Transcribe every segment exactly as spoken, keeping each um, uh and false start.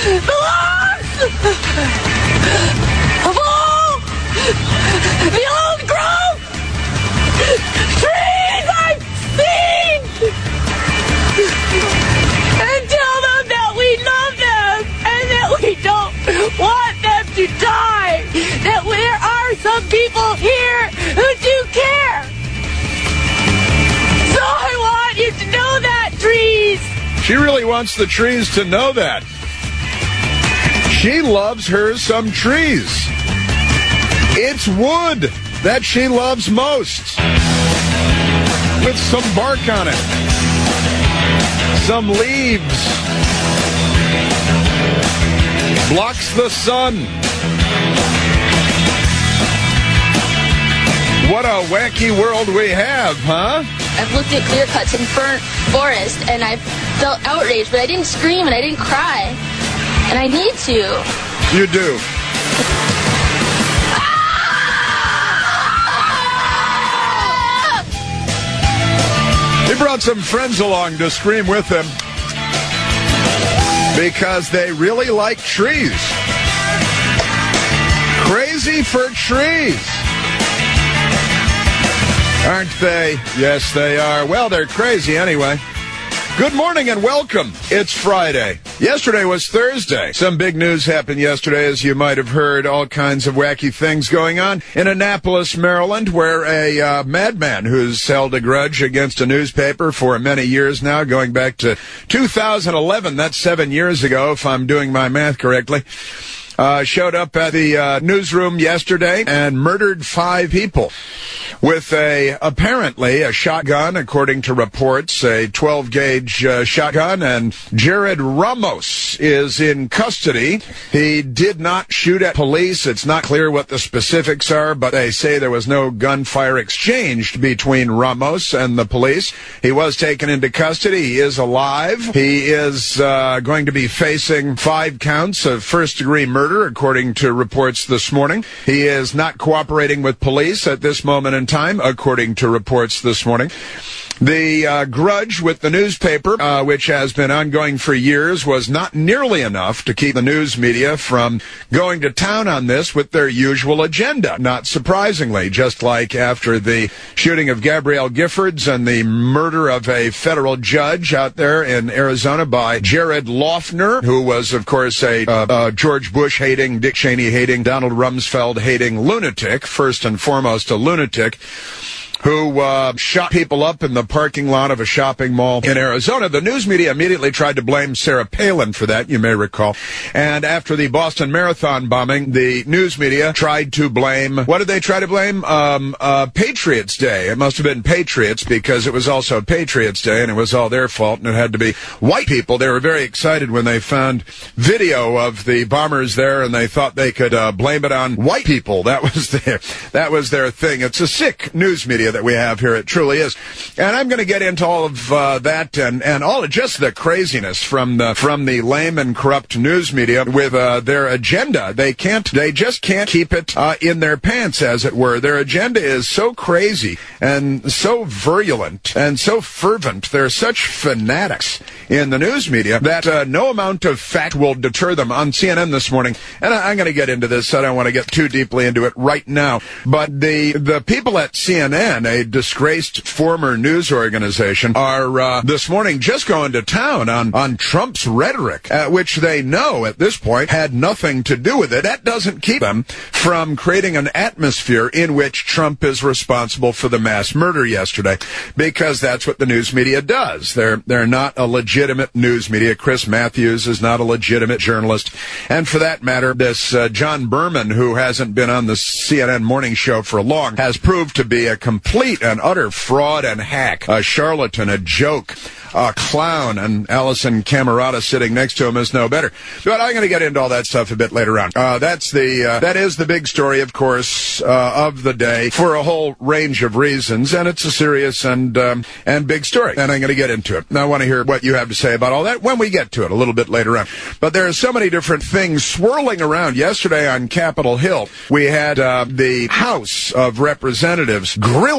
belongs of all the old growth trees I've seen, and tell them that we love them and that we don't want them to die, that there are some people here who do care. So I want you to know that, trees. She really wants the trees to know that. She loves her some trees. It's wood that she loves most, with some bark on it, some leaves, blocks the sun. What a wacky world we have, huh? I've looked at clear cuts in burnt forest, and I felt outraged, but I didn't scream and I didn't cry. And I need to. You do. He brought some friends along to scream with him because they really like trees. Crazy for trees. Aren't they? Yes, they are. Well, they're crazy anyway. Good morning and welcome. It's Friday. Yesterday was Thursday. Some big news happened yesterday, as you might have heard. All kinds of wacky things going on in Annapolis, Maryland, where a uh, madman who's held a grudge against a newspaper for many years now, going back to two thousand eleven. That's seven years ago, if I'm doing my math correctly. Uh, showed up at the uh, newsroom yesterday and murdered five people with a, apparently, a shotgun, according to reports, a twelve gauge uh, shotgun, and Jared Ramos is in custody. He did not shoot at police. It's not clear what the specifics are, but they say there was no gunfire exchanged between Ramos and the police. He was taken into custody. He is alive. He is uh, going to be facing five counts of first-degree murder. Murder, according to reports this morning. He is not cooperating with police at this moment in time, according to reports this morning. The uh, grudge with the newspaper, uh, which has been ongoing for years, was not nearly enough to keep the news media from going to town on this with their usual agenda. Not surprisingly, just like after the shooting of Gabrielle Giffords and the murder of a federal judge out there in Arizona by Jared Loughner, who was, of course, a uh, uh, George Bush-hating, Dick Cheney-hating, Donald Rumsfeld-hating lunatic, first and foremost a lunatic, who uh, shot people up in the parking lot of a shopping mall in Arizona. The news media immediately tried to blame Sarah Palin for that, you may recall. And after the Boston Marathon bombing, the news media tried to blame, what did they try to blame? Um, uh, Patriots Day. It must have been Patriots because it was also Patriots Day and it was all their fault and it had to be white people. They were very excited when they found video of the bombers there and they thought they could uh, blame it on white people. That was their, that was their thing. It's a sick news media that we have here. It truly is. And I'm going to get into all of uh, that and, and all of just the craziness from the from the lame and corrupt news media with uh, their agenda. They can't, they just can't keep it uh, in their pants, as it were. Their agenda is so crazy and so virulent and so fervent. They're such fanatics in the news media that uh, no amount of fact will deter them. On C N N this morning, and I, I'm going to get into this. I don't want to get too deeply into it right now, but the the people at C N N, a disgraced former news organization, are uh, this morning just going to town on, on Trump's rhetoric, uh, which they know at this point had nothing to do with it. That doesn't keep them from creating an atmosphere in which Trump is responsible for the mass murder yesterday, because that's what the news media does. They're, they're not a legitimate news media. Chris Matthews is not a legitimate journalist. And for that matter, this uh, John Berman, who hasn't been on the C N N morning show for long, has proved to be a complete Complete and utter fraud and hack, a charlatan, a joke, a clown, and Allison Camerata sitting next to him is no better. But I'm going to get into all that stuff a bit later on. Uh, that's the uh, that is the big story, of course, uh, of the day for a whole range of reasons, and it's a serious and um, and big story, and I'm going to get into it. And I want to hear what you have to say about all that when we get to it a little bit later on. But there are so many different things swirling around. Yesterday on Capitol Hill, we had uh, the House of Representatives grilling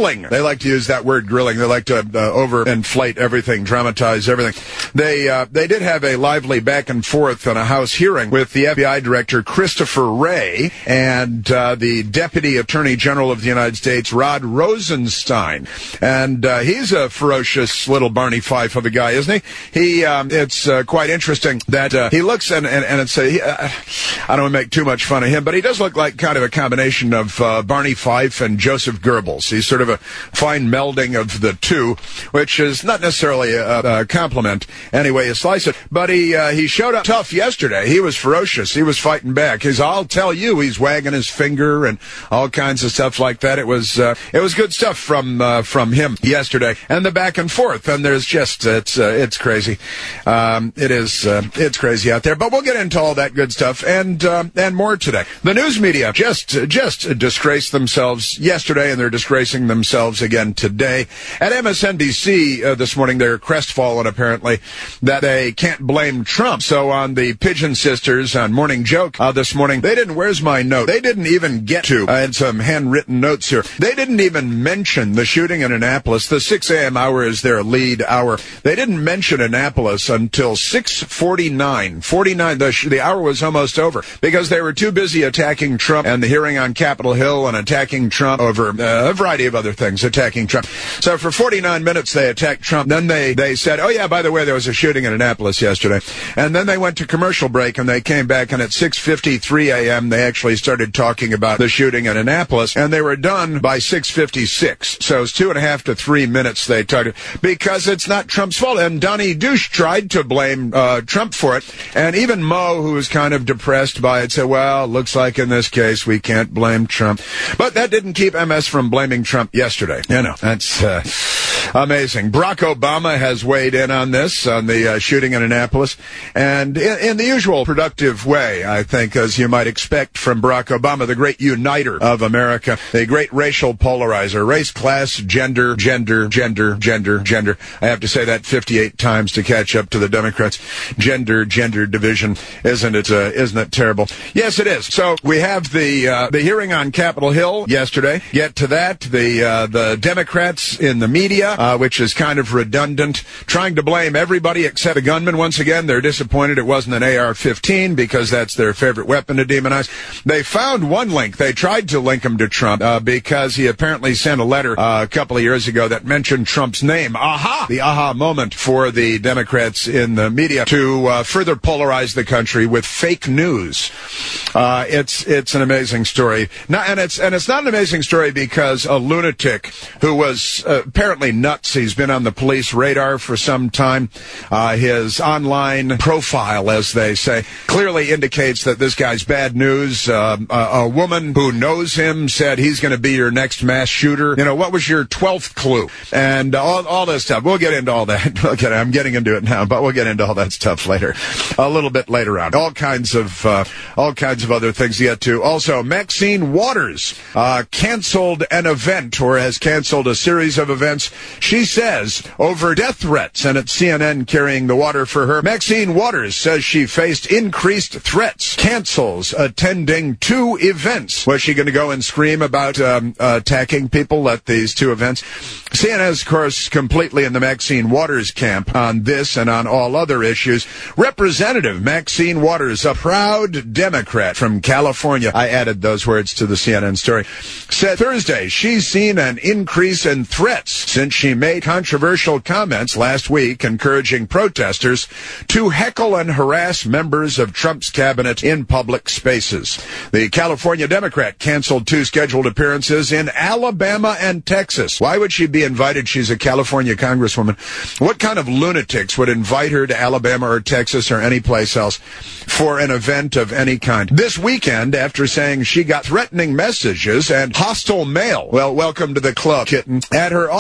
grilling. They like to use that word, grilling. They like to uh, overinflate everything, dramatize everything. They uh, they did have a lively back and forth on a House hearing with the F B I Director Christopher Wray and uh, the Deputy Attorney General of the United States, Rod Rosenstein. And uh, he's a ferocious little Barney Fife of a guy, isn't he? He um, it's uh, quite interesting that uh, he looks, and, and, and it's a, he, uh, I don't want to make too much fun of him, but he does look like kind of a combination of uh, Barney Fife and Joseph Goebbels. He's sort of a fine melding of the two, which is not necessarily a, a compliment any way you slice it. But he uh, he showed up tough yesterday. He was ferocious. He was fighting back. He's, I'll tell you, he's wagging his finger and all kinds of stuff like that. It was uh, it was good stuff from uh, from him yesterday, and the back and forth. And there's just it's uh, it's crazy. Um, it is uh, it's crazy out there. But we'll get into all that good stuff and uh, and more today. The news media just just disgraced themselves yesterday, and they're disgracing themselves again today. At M S N B C uh, this morning, they're crestfallen apparently that they can't blame Trump. So on the Pigeon Sisters on Morning Joke uh, this morning, they didn't. Where's my note? They didn't even get to. I had some handwritten notes here. They didn't even mention the shooting in Annapolis. The six a.m. hour is their lead hour. They didn't mention Annapolis until six forty-nine. forty-nine. The, sh- the hour was almost over because they were too busy attacking Trump and the hearing on Capitol Hill and attacking Trump over uh, a variety of other things, attacking Trump. So for forty-nine minutes they attacked Trump. Then they, they said, oh yeah, by the way, there was a shooting in Annapolis yesterday. And then they went to commercial break and they came back, and at six fifty-three a.m. they actually started talking about the shooting in Annapolis, and they were done by six fifty-six. So it's two and a half to three minutes they talked, because it's not Trump's fault. And Donnie Douche tried to blame uh, Trump for it. And even Mo, who was kind of depressed by it, said, well, looks like in this case we can't blame Trump. But that didn't keep M S from blaming Trump yesterday. You know, that's uh, amazing. Barack Obama has weighed in on this, on the uh, shooting in Annapolis, and in, in the usual productive way, I think, as you might expect from Barack Obama, the great uniter of America, the great racial polarizer, race, class, gender, gender, gender, gender, gender. I have to say that fifty-eight times to catch up to the Democrats. Gender, gender division. Isn't it, uh, isn't it terrible? Yes, it is. So we have the, uh, the hearing on Capitol Hill yesterday. Get to that. The, uh, the Democrats in the media, uh, which is kind of redundant, trying to blame everybody except the gunman. Once again, they're disappointed it wasn't an A R fifteen because that's their favorite weapon to demonize. They found one link. They tried to link him to Trump uh, because he apparently sent a letter uh, a couple of years ago that mentioned Trump's name. Aha! The aha moment for the Democrats in the media to uh, further polarize the country with fake news. Uh, it's it's an amazing story. Not, and it's and it's not an amazing story because a lunatic who was uh, apparently nuts. He's been on the police radar for some time. Uh, his online profile, as they say, clearly indicates that this guy's bad news. Uh, a, a woman who knows him said he's going to be your next mass shooter. You know, what was your twelfth clue? And all, all this stuff. We'll get into all that. Okay, I'm getting into it now, but we'll get into all that stuff later, a little bit later on. All kinds of uh, all kinds of other things to get to. Also, Maxine Waters uh, canceled an event, or has canceled a series of events, she says, over death threats. And it's C N N carrying the water for her. Maxine Waters says she faced increased threats, cancels attending two events. Was she going to go and scream about um, uh, attacking people at these two events? C N N is, of course, completely in the Maxine Waters camp on this and on all other issues. Representative Maxine Waters, a proud Democrat from California, I added those words to the C N N story, said Thursday she's seen an increase in threats since she made controversial comments last week encouraging protesters to heckle and harass members of Trump's cabinet in public spaces. The California Democrat canceled two scheduled appearances in Alabama and Texas. Why would she be invited? She's a California congresswoman. What kind of lunatics would invite her to Alabama or Texas or any place else for an event of any kind? This weekend, after saying she got threatening messages and hostile mail, well, welcome to the club, kitten, at her office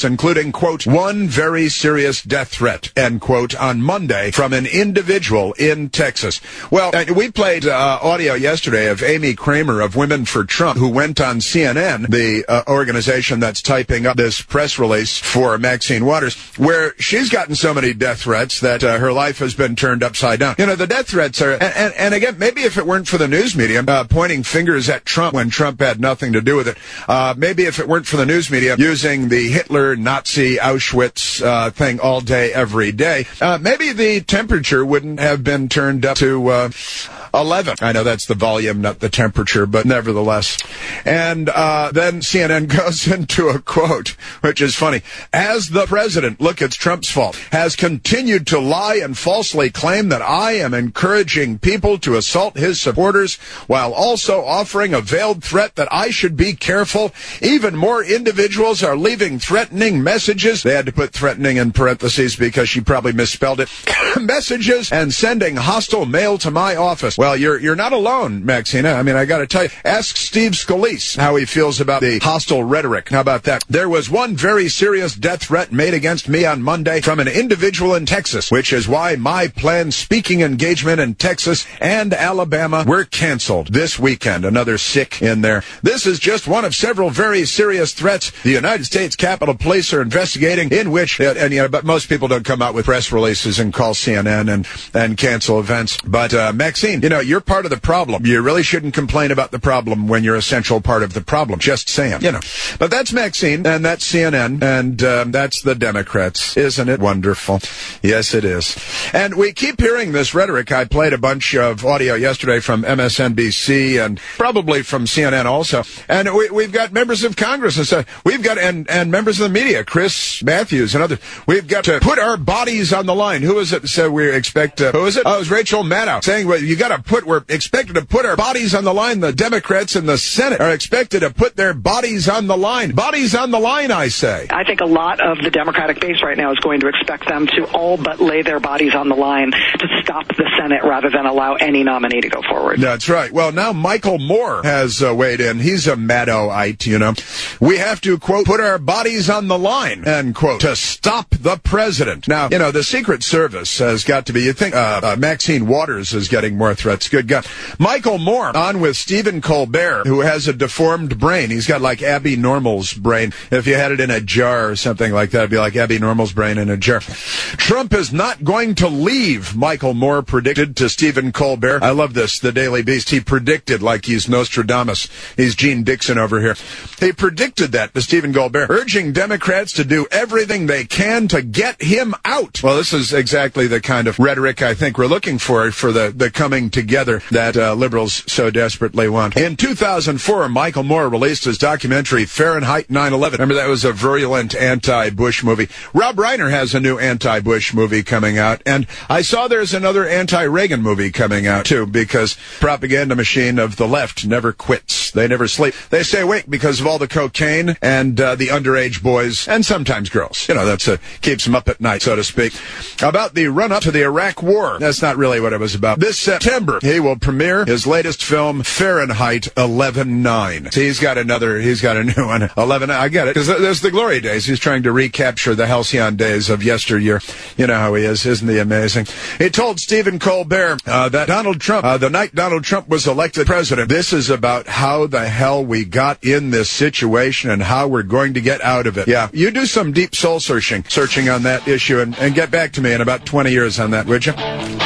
threats, including, quote, one very serious death threat, end quote, on Monday from an individual in Texas. Well, we played uh, audio yesterday of Amy Kramer of Women for Trump, who went on C N N, the uh, organization that's typing up this press release for Maxine Waters, where she's gotten so many death threats that uh, her life has been turned upside down. You know, the death threats are, and, and, and again, maybe if it weren't for the news media uh, pointing fingers at Trump when Trump had nothing to do with it, uh, maybe if it weren't for the news media using the Hitler, Nazi, Auschwitz uh, thing all day, every day, uh, maybe the temperature wouldn't have been turned up to uh, eleven. I know that's the volume, not the temperature, but nevertheless. And uh, then C N N goes into a quote, which is funny. As the president, look, it's Trump's fault, has continued to lie and falsely claim that I am encouraging people to assault his supporters while also offering a veiled threat that I should be careful. Even more individuals are leaving threatening messages. They had to put threatening in parentheses because she probably misspelled it. Messages and sending hostile mail to my office. Well, you're you're not alone, Maxina. I mean, I got to tell you, ask Steve Scalise how he feels about the hostile rhetoric. How about that? There was one very serious death threat made against me on Monday from an individual in Texas, which is why my planned speaking engagement in Texas and Alabama were canceled this weekend. Another sick in there. This is just one of several very serious threats the United States Capitol Police are investigating, in which, and you know, but most people don't come out with press releases and call C N N and, and cancel events. But, uh, Maxine, you know, you're part of the problem. You really shouldn't complain about the problem when you're a central part of the problem. Just saying, you know. But that's Maxine, and that's C N N, and um, that's the Democrats. Isn't it wonderful? Yes, it is. And we keep hearing this rhetoric. I played a bunch of audio yesterday from M S N B C and probably from C N N also. And we, we've got members of Congress and stuff. We've got, and, and members of the media, Chris Matthews and others. We've got to put our bodies on the line. Who is it that said we expect, uh, who is it? Oh, it was Rachel Maddow saying, well, you got to put, we're expected to put our bodies on the line. The Democrats in the Senate are expected to put their bodies on the line. Bodies on the line, I say. I think a lot of the Democratic base right now is going to expect them to all but lay their bodies on the line to stop the Senate rather than allow any nominee to go forward. That's right. Well, now Michael Moore has uh, weighed in. He's a Maddow-ite, you know. We have to, quote, put our bodies on the line, end quote, to stop the president. Now, you know, the Secret Service has got to be, you think, uh, uh, Maxine Waters is getting more threats. Good God. Michael Moore on with Stephen Colbert, who has a deformed brain. He's got like Abby Normal's brain. If you had it in a jar or something like that, it'd be like Abby Normal's brain in a jar. Trump is not going to leave, Michael Moore predicted to Stephen Colbert. I love this, the Daily Beast. He predicted like he's Nostradamus. He's Gene Dixon over here. He predicted that to Stephen Colbert, urging Democrats to do everything they can to get him out. Well, this is exactly the kind of rhetoric I think we're looking for for the, the coming together that uh, liberals so desperately want. In two thousand four, Michael Moore released his documentary Fahrenheit nine eleven. Remember, that was a virulent anti-Bush movie. Rob Reiner has a new anti-Bush movie coming out, and I saw there's another anti-Reagan movie coming out, too, because propaganda machine of the left never quits. They never sleep. They stay awake because of all the cocaine and uh, the underage boys, and sometimes girls. You know, that's a, keeps them up at night, so to speak. About the run-up to the Iraq War. That's not really what it was about. This September, he will premiere his latest film, Fahrenheit eleven nine. See, he's got another, he's got a new one. eleven, I get it. Because there's the glory days. He's trying to recapture the halcyon days of yesteryear. You know how he is. Isn't he amazing? He told Stephen Colbert uh, that Donald Trump, uh, the night Donald Trump was elected president, this is about how the hell we got in this situation and how we're going to get out of it. Yeah, you do some deep soul searching, searching on that issue and, and get back to me in about twenty years on that, would you?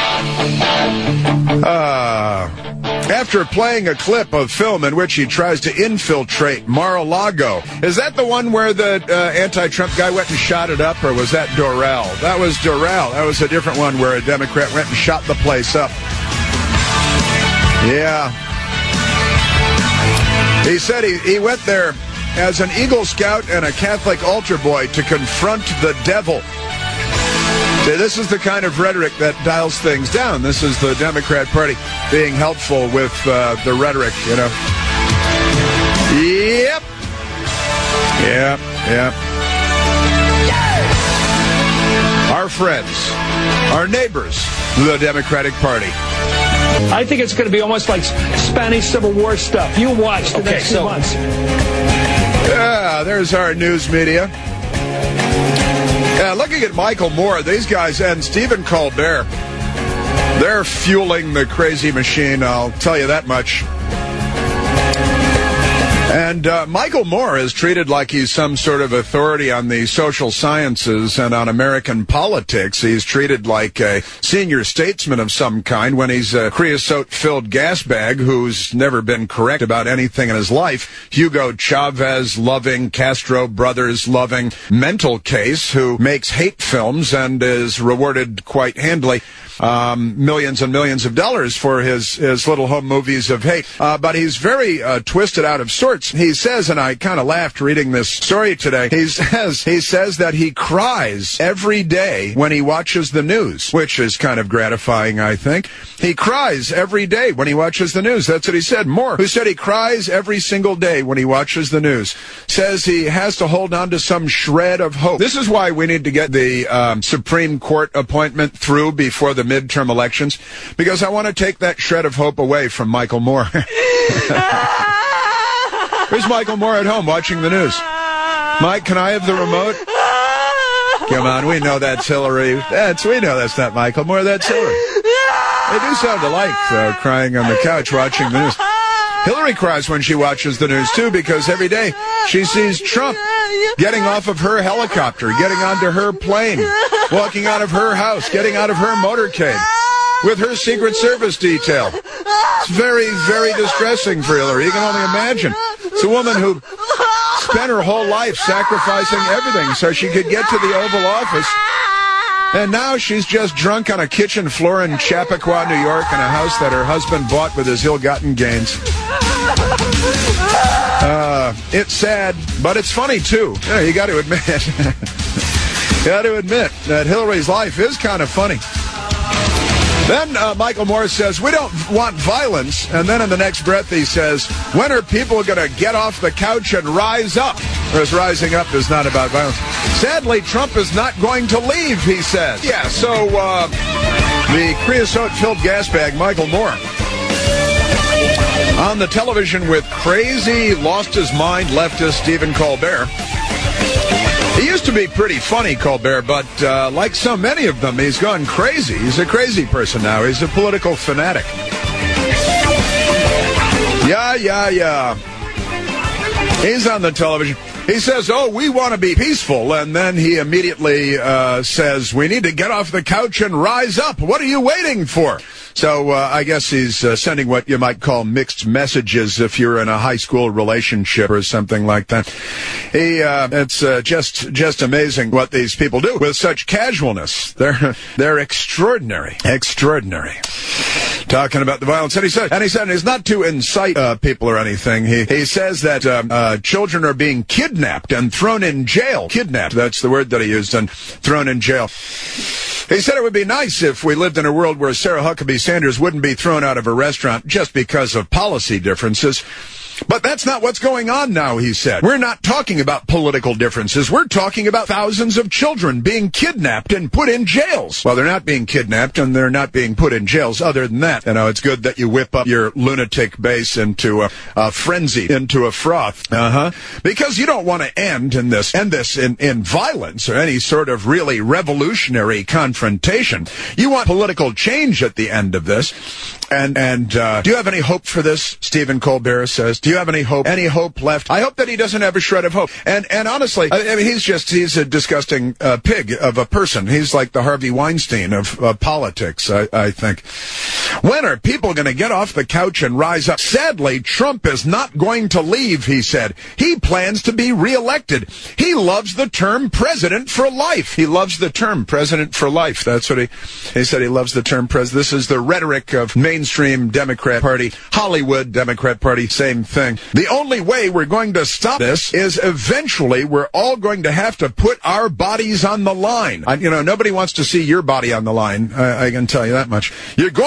Uh, after playing a clip of film in which he tries to infiltrate Mar-a-Lago. Is that the one where the uh, anti-Trump guy went and shot it up, or was that Doral? That was Doral. That was a different one where a Democrat went and shot the place up. Yeah. He said he, he went there as an Eagle Scout and a Catholic altar boy to confront the devil. See, this is the kind of rhetoric that dials things down. This is the Democrat Party being helpful with uh, the rhetoric, you know. Yep. Yep, yep. Our friends, our neighbors, the Democratic Party. I think it's going to be almost like Spanish Civil War stuff. You watch the okay, next so, few months. Yeah, there's our news media. Yeah, looking at Michael Moore, these guys, and Stephen Colbert, they're fueling the crazy machine, I'll tell you that much. And uh, Michael Moore is treated like he's some sort of authority on the social sciences and on American politics. He's treated like a senior statesman of some kind when he's a creosote-filled gas bag who's never been correct about anything in his life. Hugo Chavez-loving, Castro brothers-loving mental case who makes hate films and is rewarded quite handily. Um, millions and millions of dollars for his, his little home movies of hate. Uh, but he's very uh, twisted out of sorts. He says, and I kind of laughed reading this story today, he says, he says that he cries every day when he watches the news, which is kind of gratifying, I think. He cries every day when he watches the news. That's what he said. Moore, who said he cries every single day when he watches the news, says he has to hold on to some shred of hope. This is why we need to get the um, Supreme Court appointment through before the midterm elections, because I want to take that shred of hope away from Michael Moore. Where's Michael Moore at home watching the news? Mike, can I have the remote? Come on, we know that's Hillary. That's we know that's not Michael Moore, that's Hillary. They do sound alike, though, crying on the couch watching the news. Hillary cries when she watches the news, too, because every day she sees Trump getting off of her helicopter, getting onto her plane, walking out of her house, getting out of her motorcade with her Secret Service detail. It's very, very distressing for Hillary. You can only imagine. It's a woman who spent her whole life sacrificing everything so she could get to the Oval Office. And now she's just drunk on a kitchen floor in Chappaqua, New York, in a house that her husband bought with his ill-gotten gains. Uh, it's sad, but it's funny, too. Yeah, you got to admit. You got to admit that Hillary's life is kind of funny. Then uh, Michael Moore says, we don't want violence. And then in the next breath he says, when are people going to get off the couch and rise up? Whereas rising up is not about violence. Sadly, Trump is not going to leave, he says. Yeah, so uh, the creosote-filled gas bag, Michael Moore, on the television with crazy, lost-his-mind leftist Stephen Colbert. He used to be pretty funny, Colbert, but uh, like so many of them, he's gone crazy. He's a crazy person now. He's a political fanatic. Yeah, yeah, yeah. He's on the television. He says, oh, we want to be peaceful. And then he immediately uh, says, we need to get off the couch and rise up. What are you waiting for? So uh, I guess he's uh, sending what you might call mixed messages if you're in a high school relationship or something like that. He, uh, it's uh, just just amazing what these people do with such casualness. They're they're extraordinary, extraordinary. Talking about the violence, and he said, and he said, and it's not to incite uh, people or anything. He he says that um, uh, children are being kidnapped and thrown in jail. Kidnapped, that's the word that he used, and thrown in jail. He said it would be nice if we lived in a world where Sarah Huckabee Sanders wouldn't be thrown out of a restaurant just because of policy differences. But that's not what's going on now, he said. We're not talking about political differences. We're talking about thousands of children being kidnapped and put in jails. Well, they're not being kidnapped and they're not being put in jails. Other than that, you know, it's good that you whip up your lunatic base into a, a frenzy, into a froth. Uh-huh. Because you don't want to end in this, end this in, in violence or any sort of really revolutionary confrontation. You want political change at the end of this. And, and, uh, do you have any hope for this? Stephen Colbert says. Do you have any hope? Any hope left? I hope that he doesn't have a shred of hope. And, and honestly, I, I mean, he's just, he's a disgusting, uh, pig of a person. He's like the Harvey Weinstein of, uh, politics, I, I think. When are people going to get off the couch and rise up? Sadly, Trump is not going to leave, he said. He plans to be reelected. He loves the term president for life. He loves the term president for life. That's what he, he said. He loves the term president. This is the rhetoric of mainstream Democrat Party, Hollywood Democrat Party, same thing. The only way we're going to stop this is eventually we're all going to have to put our bodies on the line. I, you know, nobody wants to see your body on the line. I, I can tell you that much. You're going to have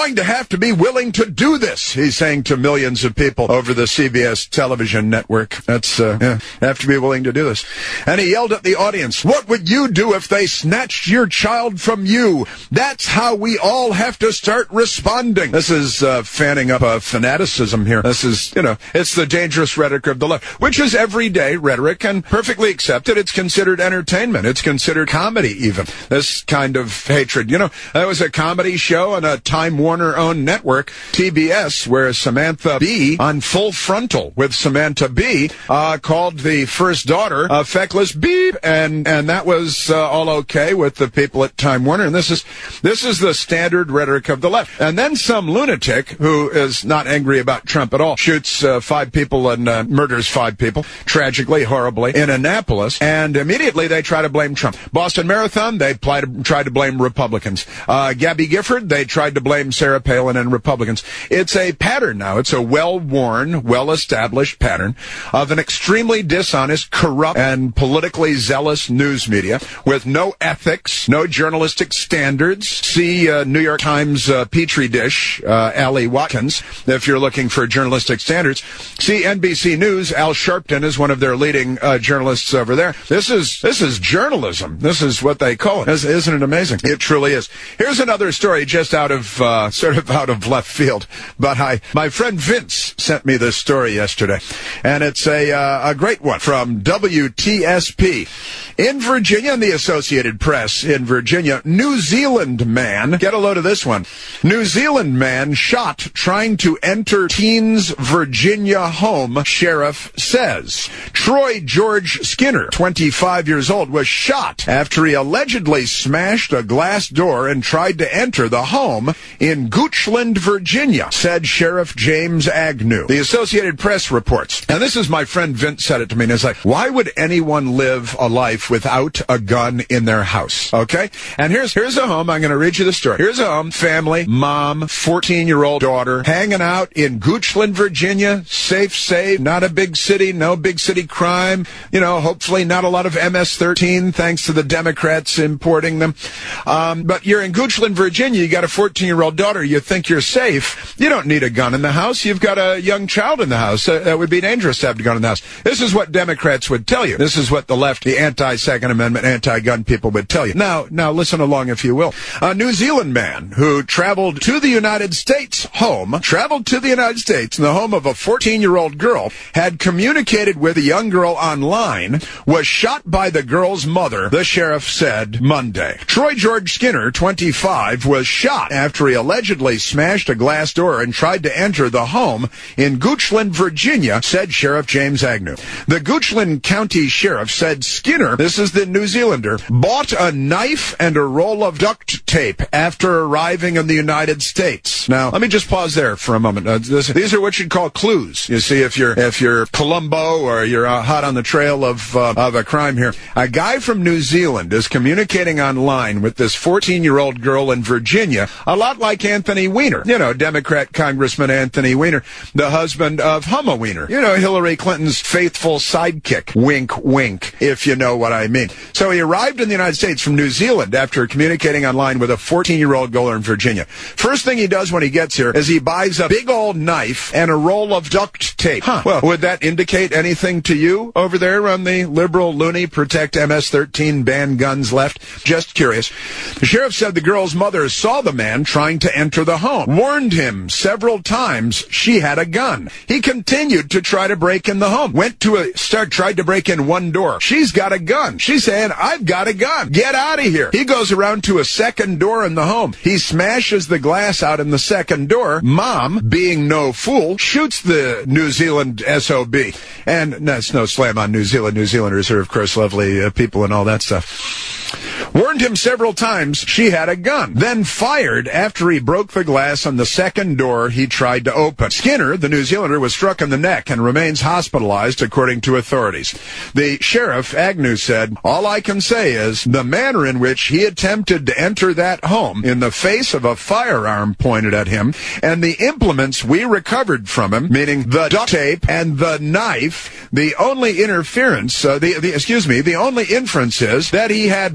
have to be willing to do this, he's saying to millions of people over the C B S television network. That's, uh, yeah, have to be willing to do this. And he yelled at the audience, what would you do if they snatched your child from you? That's how we all have to start responding. This is uh, fanning up a fanaticism here. This is, you know, it's the dangerous rhetoric of the left, which is everyday rhetoric and perfectly accepted. It's considered entertainment. It's considered comedy even. This kind of hatred. You know, there was a comedy show on a Time Warner-owned network, T B S, where Samantha Bee on Full Frontal with Samantha Bee uh, called the first daughter a feckless beep, and and that was uh, all okay with the people at Time Warner. And this is this is the standard rhetoric of the left. And then some lunatic who is not angry about Trump at all shoots uh, five people and uh, murders five people, tragically, horribly, in Annapolis, and immediately they try to blame Trump. Boston Marathon, they try to, try to blame Republicans. Uh, Gabby Gifford, they tried to blame Sarah Palin and Republicans. It's a pattern now. It's a well-worn, well-established pattern of an extremely dishonest, corrupt, and politically zealous news media with no ethics, no journalistic standards. See uh, New York Times uh, Petri dish, uh, Allie Watkins, if you're looking for journalistic standards. See N B C News, Al Sharpton is one of their leading uh, journalists over there. This is this is journalism. This is what they call it. Isn't it amazing? It truly is. Here's another story just out of, uh, sort of out of left field. But I, my friend Vince sent me this story yesterday. And it's a, uh, a great one from W T S P. In Virginia, in the Associated Press in Virginia, New Zealand man, get a load of this one. New Zealand man shot trying to enter teen's Virginia home, sheriff says. Troy George Skinner, twenty-five years old, was shot after he allegedly smashed a glass door and tried to enter the home in Goochland, Virginia, said Sheriff James Agnew. The Associated Press reports. And this is my friend Vince said it to me, and it's like, why would anyone live a life without a gun in their house? Okay? And here's here's a home. I'm going to read you the story. Here's a home, family, mom, fourteen-year-old daughter, hanging out in Goochland, Virginia, safe, safe, not a big city, no big city crime, you know, hopefully not a lot of M S thirteen, thanks to the Democrats importing them. Um, but you're in Goochland, Virginia, you got a fourteen-year-old daughter, you think you're safe. You don't need a gun in the house. You've got a young child in the house. Uh, that would be dangerous to have a gun in the house. This is what Democrats would tell you. This is what the left, the anti-Second Amendment, anti-gun people would tell you. Now, now listen along if you will. A New Zealand man who traveled to the United States home, traveled to the United States in the home of a fourteen-year-old girl, had communicated with a young girl online, was shot by the girl's mother, the sheriff said Monday. Troy George Skinner, twenty-five, was shot after he allegedly smashed a glass door and tried to enter the home in Goochland, Virginia, said Sheriff James Agnew. The Goochland County Sheriff said Skinner, this is the New Zealander, bought a knife and a roll of duct tape after arriving in the United States. Now, let me just pause there for a moment. Uh, this, these are what you'd call clues. You see, if you're if you're Columbo or you're uh, hot on the trail of uh, of a crime here, a guy from New Zealand is communicating online with this fourteen-year-old girl in Virginia, a lot like Anthony Weiner, you know, Democrat Congressman Anthony Weiner, the husband of Humma Weiner, you know, Hillary Clinton's faithful sidekick. Wink, wink, if you know what I mean. So he arrived in the United States from New Zealand after communicating online with a fourteen-year-old girl in Virginia. First thing he does when he gets here is he buys a big old knife and a roll of duct tape. Huh. Well, would that indicate anything to you over there on the liberal, loony, protect M S thirteen, ban guns left? Just curious. The sheriff said the girl's mother saw the man trying to enter the home, warned him several times she had a gun. He continued to try to break in the home. Went to a start, tried to break in one door. She's got a gun. She's saying, I've got a gun. Get out of here. He goes around to a second door in the home. He smashes the glass out in the second door. Mom, being no fool, shoots the New Zealand S O B. And that's no slam on New Zealand. New Zealanders are, of course, lovely uh, people and all that stuff. Warned him several times she had a gun, then fired after he broke the glass on the second door he tried to open. Skinner, the New Zealander, was struck in the neck and remains hospitalized, according to authorities. The sheriff, Agnew, said, all I can say is the manner in which he attempted to enter that home in the face of a firearm pointed at him and the implements we recovered from him, meaning the duct tape and the knife, the only interference, uh, the, the excuse me, the only inference is that he had very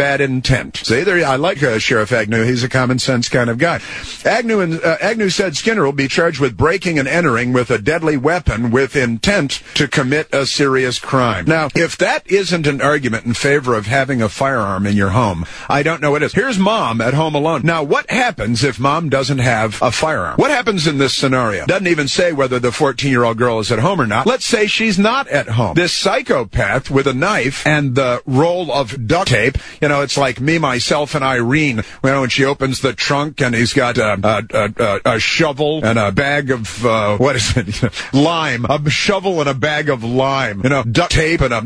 bad intent. See, there, I like uh, Sheriff Agnew. He's a common sense kind of guy. Agnew, and, uh, Agnew said Skinner will be charged with breaking and entering with a deadly weapon with intent to commit a serious crime. Now, if that isn't an argument in favor of having a firearm in your home, I don't know what is. Here's mom at home alone. Now, what happens if mom doesn't have a firearm? What happens in this scenario? Doesn't even say whether the fourteen-year-old girl is at home or not. Let's say she's not at home. This psychopath with a knife and the roll of duct tape, you know, it's like me, myself, and Irene, you know, when she opens the trunk and he's got a, a, a, a shovel and a bag of, uh, what is it? Lime. A shovel and a bag of lime. You know, duct tape and a...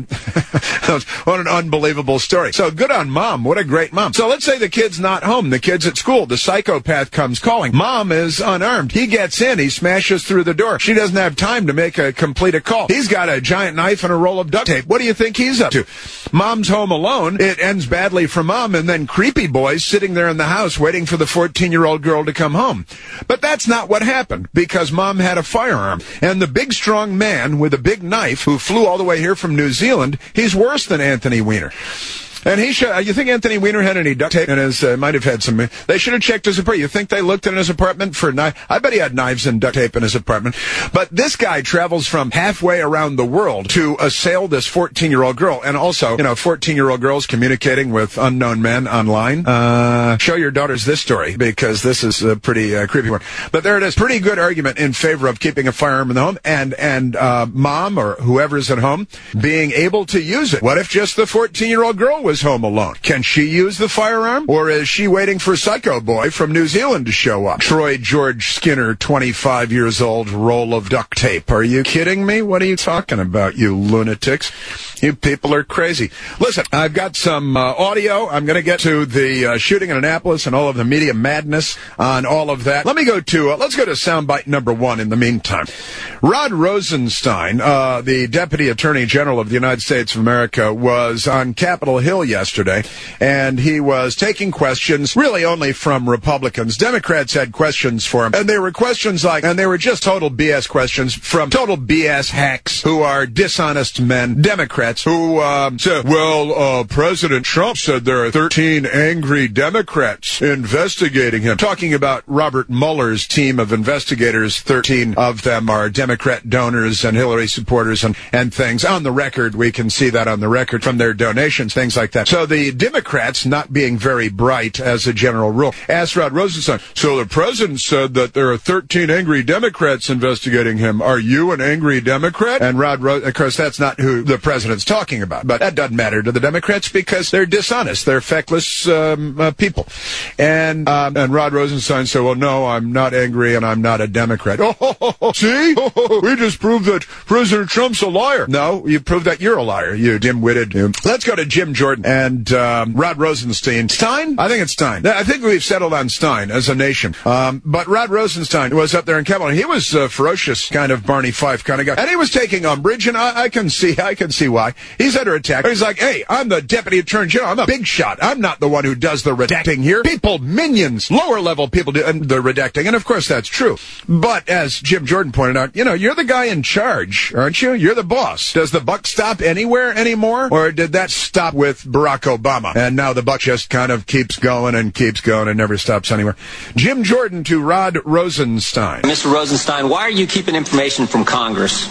What an unbelievable story. So good on mom. What a great mom. So let's say the kid's not home. The kid's at school. The psychopath comes calling. Mom is unarmed. He gets in. He smashes through the door. She doesn't have time to make a complete a call. He's got a giant knife and a roll of duct tape. What do you think he's up to? Mom's home alone. It ends badly for mom, and then creepy boys sitting there in the house waiting for the fourteen-year-old girl to come home. But that's not what happened, because mom had a firearm. And the big, strong man with a big knife who flew all the way here from New Zealand, he's worse than Anthony Weiner. And he should, you think Anthony Weiner had any duct tape in his, uh, might have had some, they should have checked his apartment. You think they looked in his apartment for knife? I bet he had knives and duct tape in his apartment. But this guy travels from halfway around the world to assail this fourteen-year-old girl. And also, you know, fourteen-year-old girls communicating with unknown men online. Uh, show your daughters this story, because this is a pretty uh, creepy one. But there it is. Pretty good argument in favor of keeping a firearm in the home, and, and, uh, mom or whoever's at home being able to use it. What if just the fourteen-year-old girl was home alone? Can she use the firearm, or is she waiting for Psycho Boy from New Zealand to show up? Troy George Skinner, twenty-five years old, roll of duct tape. Are you kidding me? What are you talking about, you lunatics? You people are crazy. Listen, I've got some uh, audio. I'm going to get to the uh, shooting in Annapolis and all of the media madness on all of that. Let me go to, uh, let's go to soundbite number one in the meantime. Rod Rosenstein, uh, the Deputy Attorney General of the United States of America, was on Capitol Hill yesterday, and he was taking questions really only from Republicans. Democrats had questions for him, and they were questions like, and they were just total B S questions from total B S hacks who are dishonest men, Democrats, who um, said, well, uh, President Trump said there are thirteen angry Democrats investigating him. Talking about Robert Mueller's team of investigators, thirteen of them are Democrat donors and Hillary supporters and, and things. On the record, we can see that on the record from their donations, things like that. So the Democrats, not being very bright as a general rule, asked Rod Rosenstein, so the president said that there are thirteen angry Democrats investigating him. Are you an angry Democrat? And Rod, Ro- of course, that's not who the president's talking about. But that doesn't matter to the Democrats because they're dishonest. They're feckless um, uh, people. And um, and Rod Rosenstein said, well, no, I'm not angry and I'm not a Democrat. Oh, ho, ho, ho. See? Oh, ho, ho. We just proved that President Trump's a liar. No, you proved that you're a liar, you dim-witted. You. Let's go to Jim Jordan and um, Rod Rosenstein. Stein? I think it's Stein. I think we've settled on Stein as a nation. Um, but Rod Rosenstein was up there in Capitol. He was a ferocious kind of Barney Fife kind of guy. And he was taking umbrage, and I, I can see, I can see why. He's under attack. He's like, hey, I'm the Deputy Attorney General. I'm a big shot. I'm not the one who does the redacting here. People, minions, lower level people do the redacting. And of course that's true. But as Jim Jordan pointed out, you know, you're the guy in charge, aren't you? You're the boss. Does the buck stop anywhere anymore? Or did that stop with Barack Obama? And now the buck just kind of keeps going and keeps going and never stops anywhere. Jim Jordan to Rod Rosenstein. Mister Rosenstein, why are you keeping information from Congress?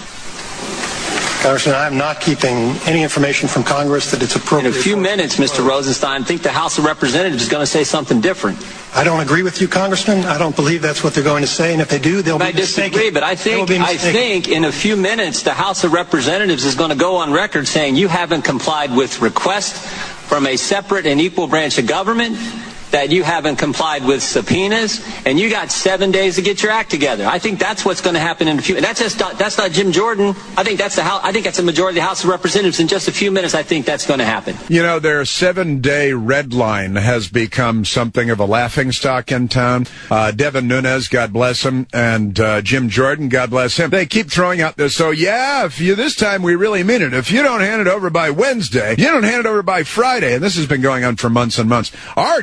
Congressman, I'm not keeping any information from Congress that it's appropriate. In a few minutes, Mister Rosenstein, I think the House of Representatives is going to say something different. I don't agree with you, Congressman. I don't believe that's what they're going to say, and if they do, they'll be mistaken. I disagree, but I think I think in a few minutes the House of Representatives is going to go on record saying you haven't complied with requests from a separate and equal branch of government, that you haven't complied with subpoenas, and you got seven days to get your act together. I think that's what's going to happen in a few. That's just not, that's not Jim Jordan. I think that's the House. I think that's the majority of the House of Representatives. In just a few minutes, I think that's going to happen. You know, their seven-day red line has become something of a laughingstock in town. Uh, Devin Nunes, God bless him, and uh, Jim Jordan, God bless him. They keep throwing out this. So yeah, if you this time we really mean it. If you don't hand it over by Wednesday, you don't hand it over by Friday, and this has been going on for months and months. Our deadline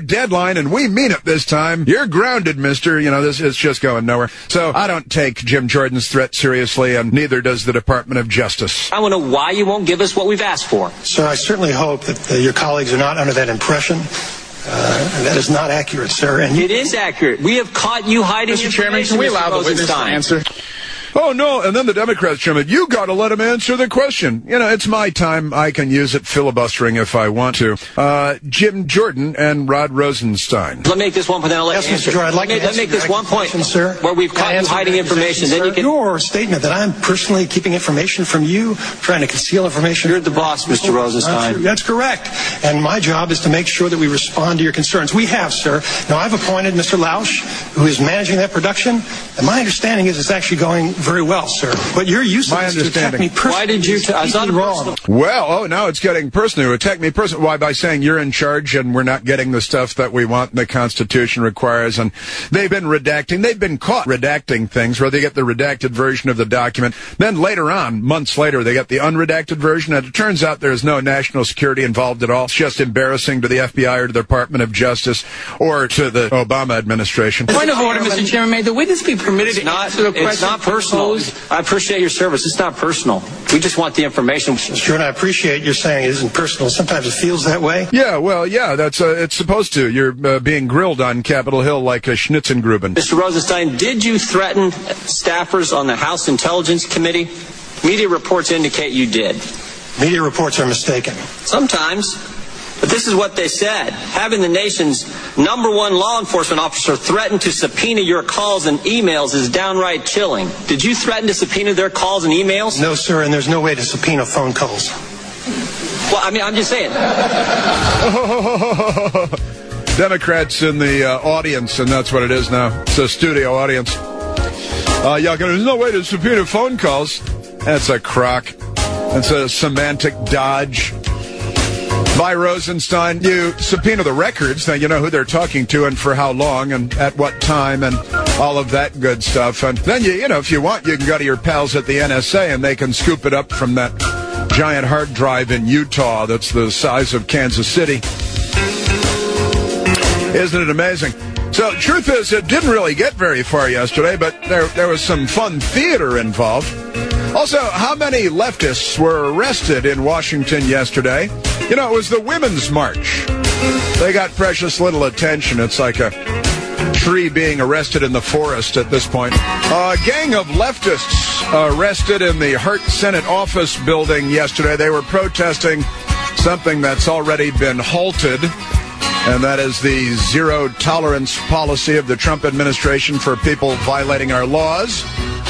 fine, and we mean it this time. You're grounded, mister. You know, this is just going nowhere. So I don't take Jim Jordan's threat seriously, and neither does the Department of Justice. I want to know why you won't give us what we've asked for. Sir, I certainly hope that uh, your colleagues are not under that impression. Uh, that is not accurate, sir. And you- it is accurate. We have caught you hiding Mister Chairman, can we allow the witness to answer? Oh, no, and then the Democrats, Chairman, you got to let him answer the question. You know, it's my time. I can use it filibustering if I want to. Uh, Jim Jordan and Rod Rosenstein. Let me make this one point, then I'll let Yes, you Mister answer. Jordan, I'd like let me, to let me make this one point, sir. where we've caught you hiding information. Then you can... Your statement that I'm personally keeping information from you, trying to conceal information... You're the boss, Mister Rosenstein. That's correct. And my job is to make sure that we respond to your concerns. We have, sir. Now, I've appointed Mister Lausch, who is managing that production, and my understanding is it's actually going very well, sir. But your use of My this to attack me personally... Why did you... T- I was not wrong. Well, oh, now it's getting personal. You attack me personally. Why? By saying you're in charge and we're not getting the stuff that we want and the Constitution requires. And they've been redacting. They've been caught redacting things where they get the redacted version of the document. Then later on, months later, they get the unredacted version. And it turns out there's no national security involved at all. It's just embarrassing to the F B I or to the Department of Justice or to the Obama administration. Point of order, Mister Chairman. May the witness be permitted It's to not, answer the question? it's not personal. I appreciate your service. It's not personal. We just want the information. Sure, and I appreciate you saying it isn't personal. Sometimes it feels that way. Yeah, well, yeah, that's uh, it's supposed to. You're uh, being grilled on Capitol Hill like a Schnitzengruben. Mister Rosenstein, did you threaten staffers on the House Intelligence Committee? Media reports indicate you did. Media reports are mistaken. Sometimes. But this is what they said. Having the nation's number one law enforcement officer threaten to subpoena your calls and emails is downright chilling. Did you threaten to subpoena their calls and emails? No, sir, and there's no way to subpoena phone calls. Well, I mean, I'm just saying. Democrats in the uh, audience, and that's what it is now. It's a studio audience. Uh, yeah, there's no way to subpoena phone calls. That's a crock. That's a semantic dodge. By Rosenstein, you subpoena the records. Now you know who they're talking to and for how long and at what time and all of that good stuff. And then, you, you know, if you want, you can go to your pals at the N S A and they can scoop it up from that giant hard drive in Utah that's the size of Kansas City. Isn't it amazing? So, truth is, it didn't really get very far yesterday, but there, there was some fun theater involved. Also, how many leftists were arrested in Washington yesterday? You know, it was the Women's March. They got precious little attention. It's like a tree being arrested in the forest at this point. A gang of leftists arrested in the Hart Senate office building yesterday. They were protesting something that's already been halted, and that is the zero-tolerance policy of the Trump administration for people violating our laws.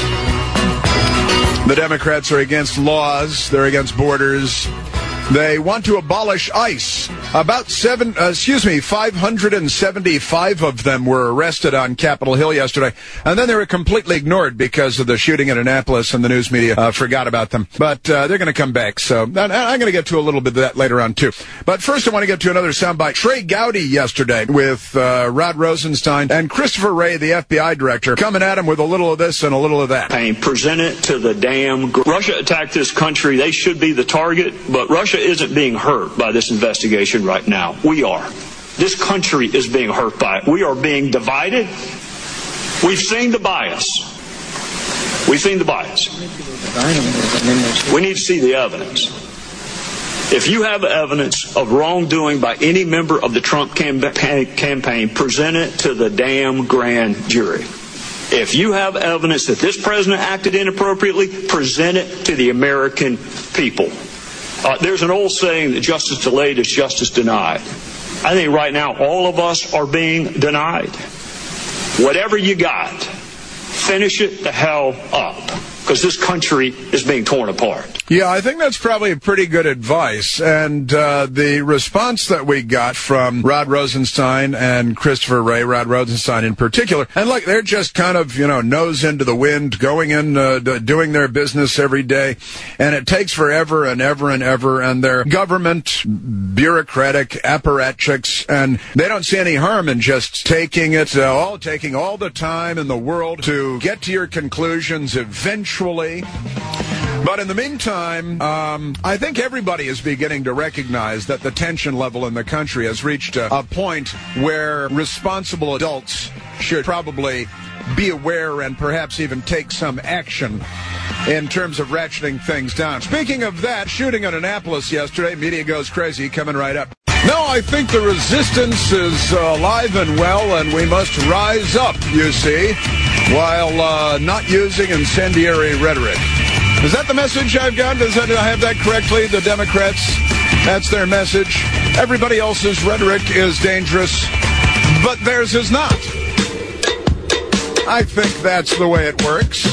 The Democrats are against laws. They're against borders. They want to abolish ICE. About seven, uh, excuse me, five hundred seventy-five of them were arrested on Capitol Hill yesterday, and then they were completely ignored because of the shooting in Annapolis, and the news media uh, forgot about them. But uh, they're going to come back, so I'm going to get to a little bit of that later on, too. But first, I want to get to another soundbite. Trey Gowdy yesterday with uh, Rod Rosenstein and Christopher Wray, the F B I director, coming at him with a little of this and a little of that. Present it to the damn... Gr- Russia attacked this country. They should be the target, but Russia isn't being hurt by this investigation right now. We are. This country is being hurt by it. We are being divided. We've seen the bias. We've seen the bias. We need to see the evidence. If you have evidence of wrongdoing by any member of the Trump campaign, present it to the damn grand jury. If you have evidence that this president acted inappropriately, present it to the American people. Uh, there's an old saying that justice delayed is justice denied. I think right now all of us are being denied. Whatever you got, finish it the hell up, because this country is being torn apart. Yeah, I think that's probably pretty good advice. And uh, the response that we got from Rod Rosenstein and Christopher Wray, Rod Rosenstein in particular, and look, they're just kind of, you know, nose into the wind, going in, uh, doing their business every day. And it takes forever and ever and ever. And they're government, bureaucratic apparatchiks, and they don't see any harm in just taking it, uh, all taking all the time in the world to get to your conclusions eventually. But in the meantime, um, I think everybody is beginning to recognize that the tension level in the country has reached a, a point where responsible adults should probably be aware and perhaps even take some action in terms of ratcheting things down. Speaking of that, shooting in Annapolis yesterday, media goes crazy, coming right up. No, I think the resistance is uh, alive and well, and we must rise up, you see, while uh, not using incendiary rhetoric. Is that the message I've got? Does that, did I have that correctly? The Democrats, that's their message. Everybody else's rhetoric is dangerous, but theirs is not. I think that's the way it works.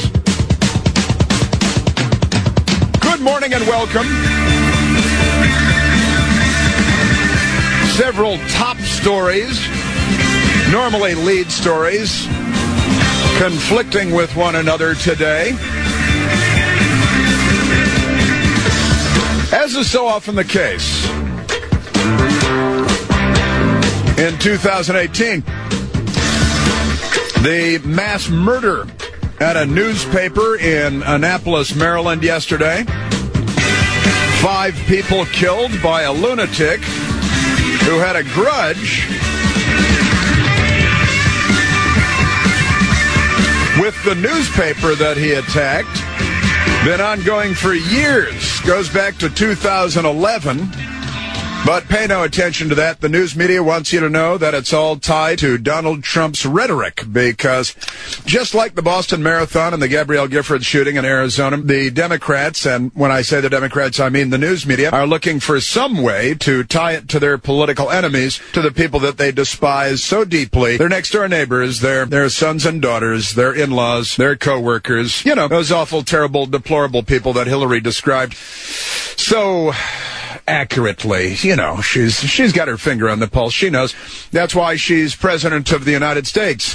Good morning and welcome. Several top stories, normally lead stories, conflicting with one another today. As is so often the case, in two thousand eighteen, the mass murder at a newspaper in Annapolis, Maryland yesterday. Five people killed by a lunatic who had a grudge with the newspaper that he attacked. Been ongoing for years. Goes back to two thousand eleven. But pay no attention to that. The news media wants you to know that it's all tied to Donald Trump's rhetoric, because just like the Boston Marathon and the Gabrielle Giffords shooting in Arizona, the Democrats, and when I say the Democrats, I mean the news media, are looking for some way to tie it to their political enemies, to the people that they despise so deeply, their next-door neighbors, their, their sons and daughters, their in-laws, their co-workers, you know, those awful, terrible, deplorable people that Hillary described so accurately. You know, she's she's got her finger on the pulse. She knows. That's why she's president of the United States.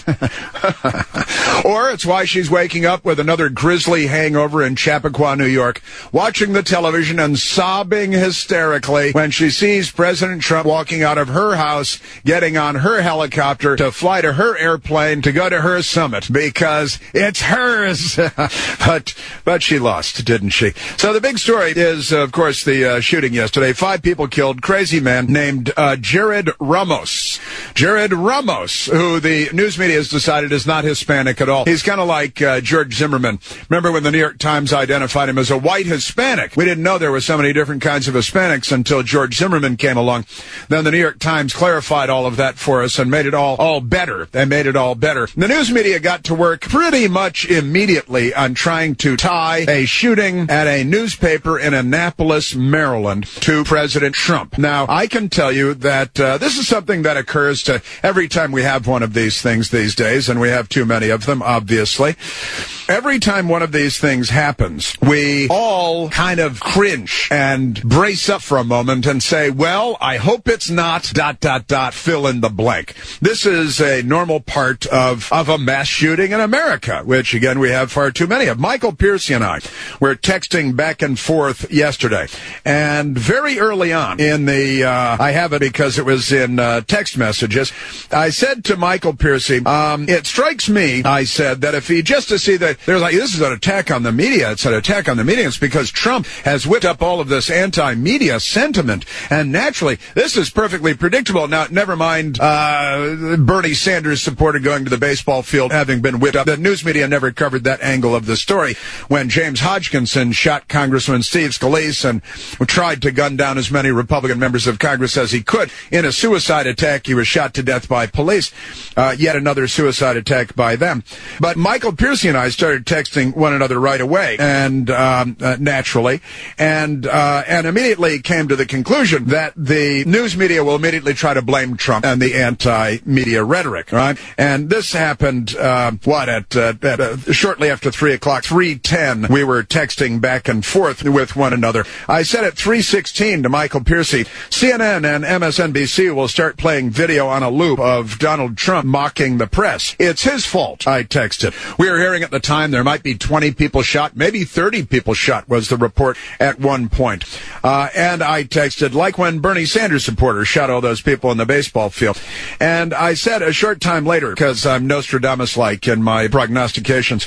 Or it's why she's waking up with another grisly hangover in Chappaqua, New York, watching the television and sobbing hysterically when she sees President Trump walking out of her house, getting on her helicopter to fly to her airplane to go to her summit, because it's hers. but but she lost, didn't she? So the big story is, of course, the uh, shooting yesterday. Five people killed. Crazy man named uh, Jared Ramos. Jared Ramos, who the news media has decided is not Hispanic at all. He's kind of like uh, George Zimmerman. Remember when the New York Times identified him as a white Hispanic? We didn't know there were so many different kinds of Hispanics until George Zimmerman came along. Then the New York Times clarified all of that for us and made it all, all better. They made it all better. The news media got to work pretty much immediately on trying to tie a shooting at a newspaper in Annapolis, Maryland, to President Trump. Now, I can tell you that uh, this is something that occurs to every time we have one of these things these days, and we have too many of them, obviously. Every time one of these things happens, we all kind of cringe and brace up for a moment and say, well, I hope it's not dot, dot, dot, fill in the blank. This is a normal part of, of a mass shooting in America, which, again, we have far too many of. Michael Piercy and I were texting back and forth yesterday, and very early on in the, uh, I have it because it was in uh, text messages, I said to Michael Piercy, um, it strikes me, I said, that if he, just to see that there's like, this is an attack on the media, it's an attack on the media, it's because Trump has whipped up all of this anti-media sentiment, and naturally, this is perfectly predictable. Now, never mind uh, Bernie Sanders supporter going to the baseball field having been whipped up. The news media never covered that angle of the story when James Hodgkinson shot Congressman Steve Scalise and tried to gun down as many Republican members of Congress as he could. In a suicide attack, he was shot to death by police. Uh, yet another suicide attack by them. But Michael Piercy and I started texting one another right away, and um, uh, naturally, and uh, and immediately came to the conclusion that the news media will immediately try to blame Trump and the anti-media rhetoric, right? And this happened, uh, what, at, uh, at uh, shortly after three o'clock, three ten, we were texting back and forth with one another. I said at three sixteen to Michael Piercy, C N N and M S N B C will start playing video on a loop of Donald Trump mocking the press. It's his fault, I texted. We were hearing at the time there might be twenty people shot, maybe thirty people shot was the report at one point. Uh, and I texted, like when Bernie Sanders supporters shot all those people in the baseball field. And I said a short time later, because I'm Nostradamus-like in my prognostications,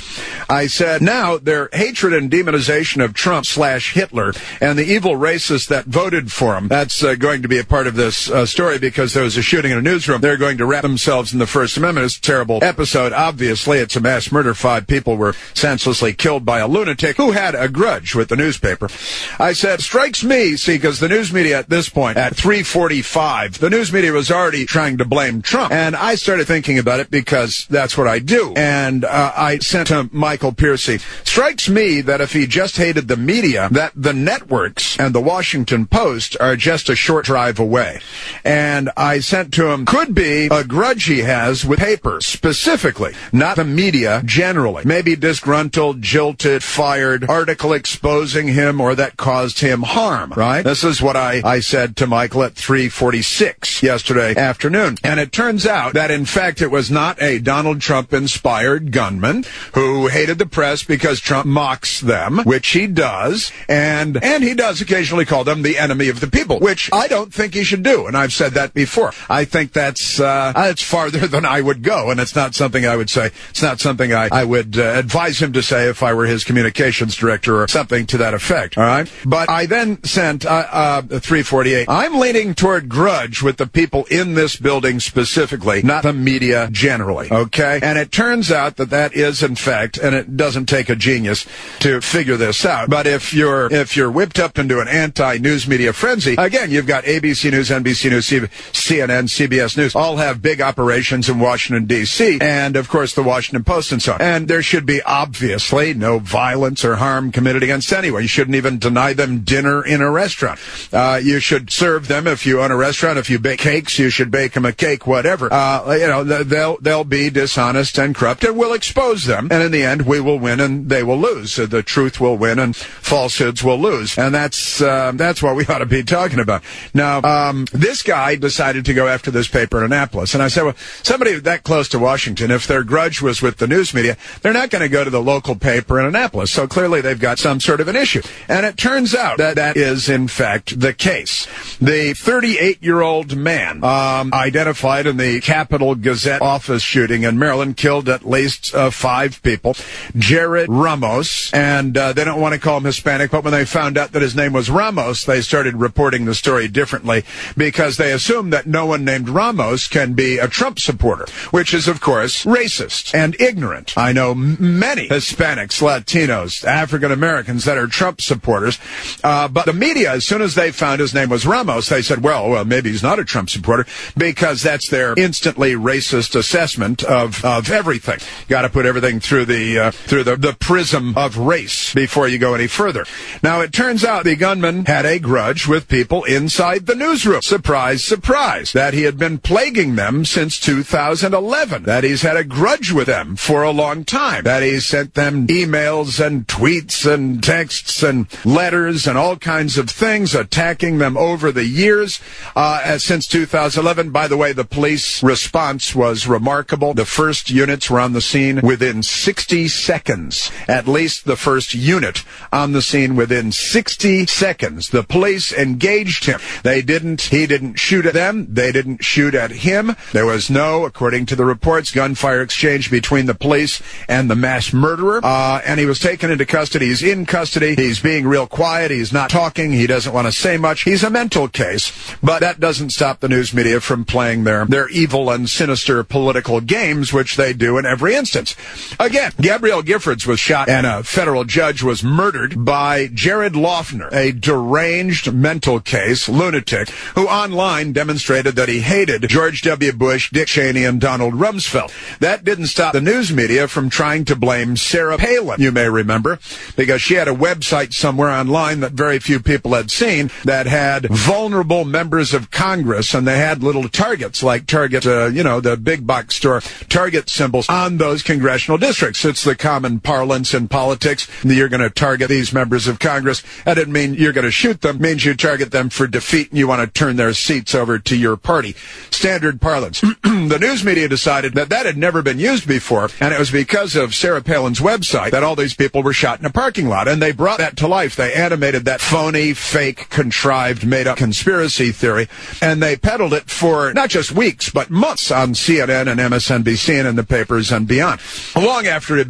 I said, now their hatred and demonization of Trump slash Hitler and the evil racists that voted for him, that's uh, going to be a part of this uh, story because there was a shooting in a newsroom. They're going to wrap themselves in the First Amendment. It's a terrible episode. Obviously, it's a mass murder. Five people were senselessly killed by a lunatic who had a grudge with the newspaper. I said, strikes me, see, because the news media at this point, at three forty-five, the news media was already trying to blame Trump. And I started thinking about it because that's what I do. And uh, I sent to Michael Piercy, strikes me that if he just hated the media, that the networks and the Washington Post are just a short drive away. And I sent to him, could be a grudge he has with paper, specifically, not the media generally. Maybe disgruntled, jilted, fired, article exposing him or that caused him harm, right? This is what I, I said to Michael at three forty-six yesterday afternoon. And it turns out that, in fact, it was not a Donald Trump-inspired gunman who hated the press because Trump mocks them, which he does, and and he does occasionally call them the enemy of the people, which I don't think he should do, and I've said that before. I think that's uh, it's farther than I would go, and it's not something I would say. It's not something I, I would uh, advise him to say if I were his communications director or something to that effect, all right? But I then sent uh, uh, three forty-eight. I'm leaning toward grudge with the people in this building specifically, not the media generally, okay? And it turns out that that is, in fact, and it doesn't take a genius to figure this out, but if you're if you're whipped up into an anti-news media frenzy, again, you've got A B C News, N B C News, C N N, C B S News, all have big operations in Washington, D C, and, of course, the Washington Post and so on. And there should be, obviously, no violence or harm committed against anyone. You shouldn't even deny them dinner in a restaurant. Uh, you should serve them, if you own a restaurant, if you bake cakes, you should bake them a cake, whatever. Uh, you know, they'll, they'll be dishonest and corrupt, and we'll expose them, and in the end, we will win and they will lose. So the truth will win and falsehoods will lose. And that's, uh, that's what we ought to be talking about. Now, um, this guy decided to go after this paper in Annapolis. And I said, well, somebody that close to Washington, if their grudge was with the news media, they're not going to go to the local paper in Annapolis. So clearly they've got some sort of an issue. And it turns out that that is, in fact, the case. The thirty-eight-year-old man, um, identified in the Capitol Gazette office shooting in Maryland, killed at least uh, five people, Jared Ramos, and uh, they don't want to call him Hispanic, but when they found out that his name was Ramos, they started reporting the story differently because they assume that no one named Ramos can be a Trump supporter, which is, of course, racist and ignorant. I know m- many Hispanics, Latinos, African Americans that are Trump supporters, uh, but the media, as soon as they found his name was Ramos, they said, well, well, maybe he's not a Trump supporter because that's their instantly racist assessment of, of everything. Got to put everything through the uh, through the, the prism of race before you go any further. Now, it turns out the gunman had a grudge with people inside the newsroom. Surprise, surprise. That he had been plaguing them since two thousand eleven. That he's had a grudge with them for a long time. That he sent them emails and tweets and texts and letters and all kinds of things, attacking them over the years uh, since two thousand eleven. By the way, the police response was remarkable. The first units were on the scene within sixty seconds. At least the first unit on the scene within sixty seconds. The police engaged him. They didn't, he didn't shoot at them. They didn't shoot at him. There was no, according to the reports, gunfire exchange between the police and the mass murderer. Uh, and he was taken into custody. He's in custody. He's being real quiet. He's not talking. He doesn't want to say much. He's a mental case. But that doesn't stop the news media from playing their, their evil and sinister political games, which they do in every instance. Again, Gabrielle Giffords was shot and a federal judge was murdered by Jared Loughner, a deranged mental case lunatic who online demonstrated that he hated George W. Bush, Dick Cheney, and Donald Rumsfeld. That didn't stop the news media from trying to blame Sarah Palin, you may remember, because she had a website somewhere online that very few people had seen that had vulnerable members of Congress, and they had little targets like Target, uh, you know, the big box store Target symbols on those congressional districts. It's the common parlance in politics. You're going to target these members of Congress. That didn't mean you're going to shoot them. It means you target them for defeat and you want to turn their seats over to your party. Standard parlance. The news media decided that that had never been used before, and it was because of Sarah Palin's website that all these people were shot in a parking lot, and they brought that to life. They animated that phony, fake, contrived, made-up conspiracy theory, and they peddled it for not just weeks, but months on C N N and M S N B C and in the papers and beyond. Long after it had been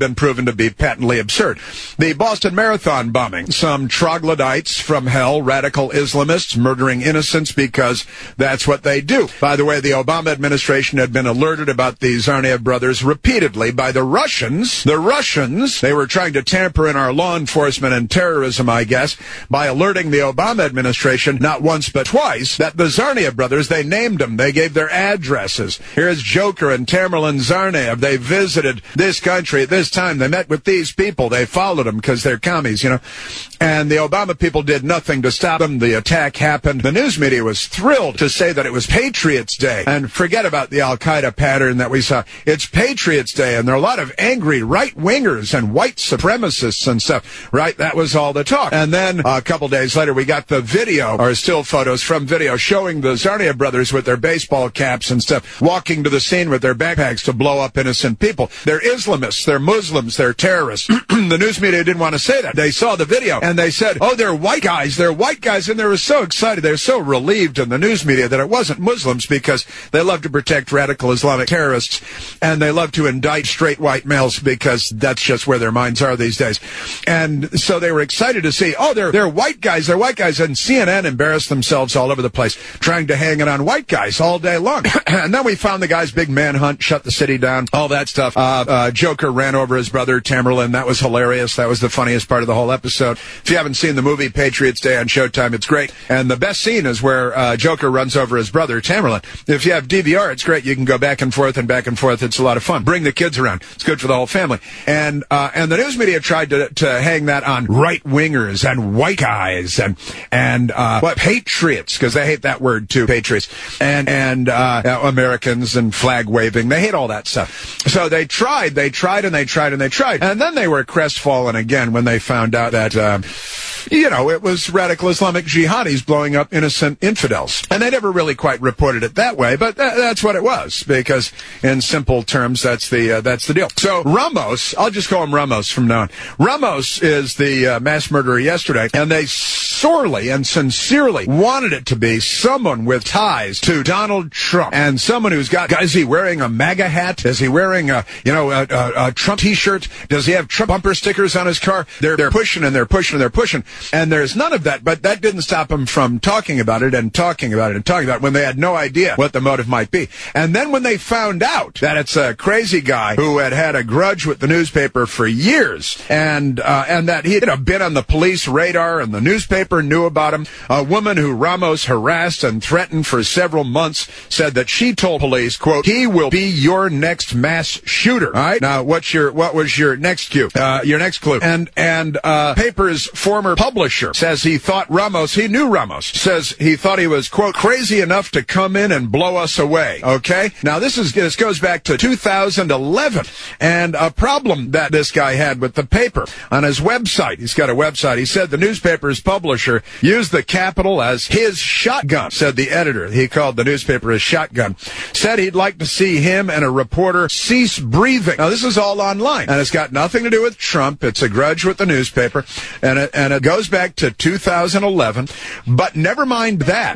been proven to be patently absurd. The Boston Marathon bombing, some troglodytes from hell, radical Islamists murdering innocents because that's what they do. By the way, the Obama administration had been alerted about the Tsarnaev brothers repeatedly by the Russians. The Russians, they were trying to tamper in our law enforcement and terrorism, I guess, by alerting the Obama administration not once but twice that the Tsarnaev brothers, they named them. They gave their addresses. Here's Joker and Tamerlan Tsarnaev. They visited this country at this time. They met with these people. They followed them because they're commies, you know. And the Obama people did nothing to stop them. The attack happened. The news media was thrilled to say that it was Patriots Day. And forget about the Al-Qaeda pattern that we saw. It's Patriots Day, and there are a lot of angry right-wingers and white supremacists and stuff, right? That was all the talk. And then uh, a couple days later, we got the video, or still photos from video, showing the Tsarnaev brothers with their baseball caps and stuff, walking to the scene with their backpacks to blow up innocent people. They're Islamists, they're Muslims, they're terrorists. The news media didn't want to say that. They saw the video, and they said, oh, they're white guys, they're white guys, and they were so excited, they were so relieved in the news media that it wasn't Muslims, because they love to protect radical Islamic terrorists, and they love to indict straight white males because that's just where their minds are these days. And so they were excited to see, oh, they're, they're white guys, they're white guys, and C N N embarrassed themselves all over the place, trying to hang it on white guys all day long. And then we found the guy's big manhunt, shut the city down, all that stuff. Uh, uh, Joker ran over his brother, Tamerlan. That was hilarious. That was the funniest part of the whole episode. If you haven't seen the movie Patriots Day on Showtime, it's great. And the best scene is where uh, Joker runs over his brother, Tamerlan. If you have D V R, it's great. You can go back and forth and back and forth. It's a lot of fun. Bring the kids around. It's good for the whole family. And uh, and the news media tried to to hang that on right-wingers and white guys and and uh, what patriots, because they hate that word too, patriots, and and uh, Americans and flag waving. They hate all that stuff. So they tried, they tried, and they tried, and they tried, and then they were crestfallen again when they found out that. Uh, You know, it was radical Islamic jihadis blowing up innocent infidels. And they never really quite reported it that way, but th- that's what it was, because in simple terms, that's the uh, that's the deal. So Ramos, I'll just call him Ramos from now on. Ramos is the uh, mass murderer yesterday, and they sorely and sincerely wanted it to be someone with ties to Donald Trump, and someone who's got, is he wearing a MAGA hat? Is he wearing a, you know, a, a, a Trump t-shirt? Does he have Trump bumper stickers on his car? They're, they're pushing and they're pushing and they're pushing. And there's none of that, but that didn't stop them from talking about it and talking about it and talking about it when they had no idea what the motive might be. And then when they found out that it's a crazy guy who had had a grudge with the newspaper for years, and uh, and that he had been on the police radar and the newspaper knew about him, a woman who Ramos harassed and threatened for several months said that she told police, quote, he will be your next mass shooter. All right? Now, what's your what was your next cue? Uh, your next clue. And, and uh, paper's former publisher says he thought Ramos, he knew Ramos, says he thought he was, quote, crazy enough to come in and blow us away, okay? Now, this is this goes back to two thousand eleven, and a problem that this guy had with the paper on his website. He's got a website. He said the newspaper's publisher used the capital as his shotgun, said the editor. He called the newspaper his shotgun. Said he'd like to see him and a reporter cease breathing. Now, this is all online, and it's got nothing to do with Trump. It's a grudge with the newspaper, and it, and it goes back to two thousand eleven, but never mind that.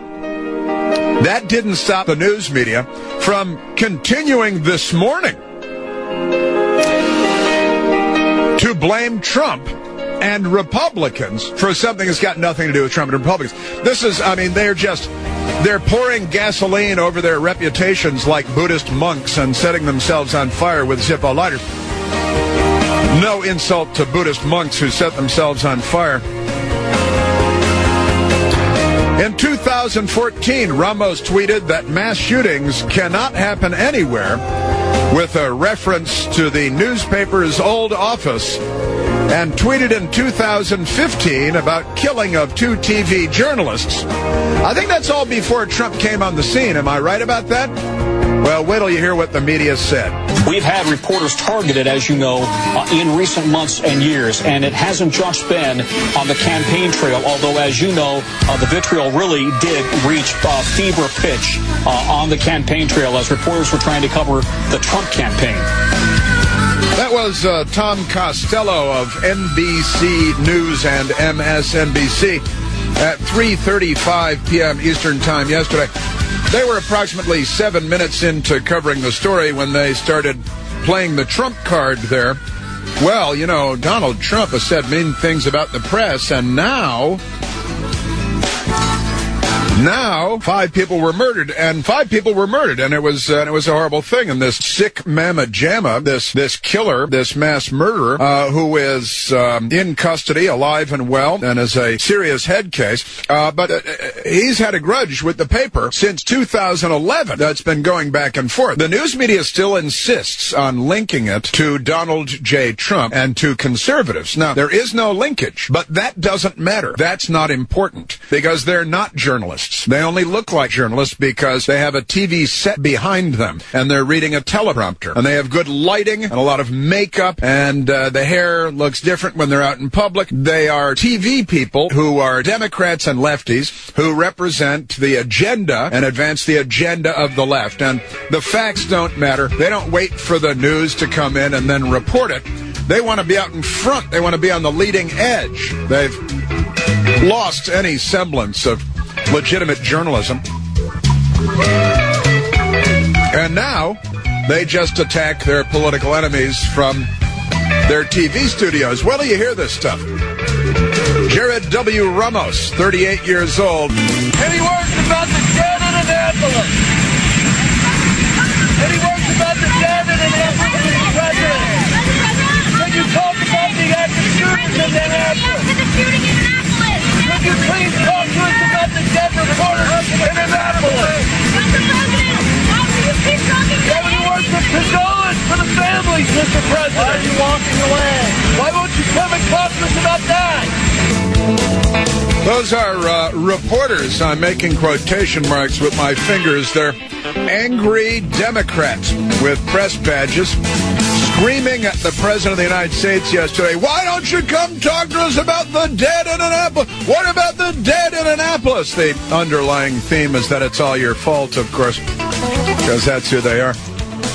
That didn't stop the news media from continuing this morning to blame Trump and Republicans for something that's got nothing to do with Trump and Republicans. This is, I mean, they're just, they're pouring gasoline over their reputations like Buddhist monks and setting themselves on fire with Zippo lighters. No insult to Buddhist monks who set themselves on fire. In two thousand fourteen, Ramos tweeted that mass shootings cannot happen anywhere, with a reference to the newspaper's old office, and tweeted in two thousand fifteen about killing of two T V journalists. I think that's all before Trump came on the scene. Am I right about that? Well, wait till you hear what the media said. We've had reporters targeted, as you know, uh, in recent months and years, and it hasn't just been on the campaign trail, although, as you know, uh, the vitriol really did reach uh, fever pitch uh, on the campaign trail as reporters were trying to cover the Trump campaign. That was uh, Tom Costello of N B C News and M S N B C at three thirty-five p.m. Eastern Time yesterday. They were approximately seven minutes into covering the story when they started playing the Trump card there. well, you know, Donald Trump has said mean things about the press, and now... Now, five people were murdered, and five people were murdered, and it was uh, it was a horrible thing. And this sick mama jamma, this this killer, this mass murderer, uh, who is um, in custody, alive and well, and is a serious head case. Uh, but uh, he's had a grudge with the paper since two thousand eleven. That's been going back and forth. The news media still insists on linking it to Donald J. Trump and to conservatives. Now, there is no linkage, but that doesn't matter. That's not important because they're not journalists. They only look like journalists because they have a T V set behind them, and they're reading a teleprompter, and they have good lighting and a lot of makeup, and uh, the hair looks different when they're out in public. They are T V people who are Democrats and lefties who represent the agenda and advance the agenda of the left, and the facts don't matter. They don't wait for the news to come in and then report it. They want to be out in front. They want to be on the leading edge. They've lost any semblance of legitimate journalism. And now they just attack their political enemies from their T V studios. Where do you hear this stuff? Jared W. Ramos, thirty-eight years old. Any words about the dead in Annapolis? Any words about the dead in Annapolis, Mister President? Can you talk about the active shootings in Annapolis? Could you please talk to us about the dead reporters in Annapolis? Mister President, why will you keep talking to me? Words of condolence for the families, Mister President. Why are you walking away? Why won't you come and talk to us about that? Those are uh, reporters. I'm making quotation marks with my fingers. They're angry Democrats with press badges screaming at the President of the United States yesterday, why don't you come talk to us about the dead in Annapolis? What about the dead in Annapolis? The underlying theme is that it's all your fault, of course, because that's who they are.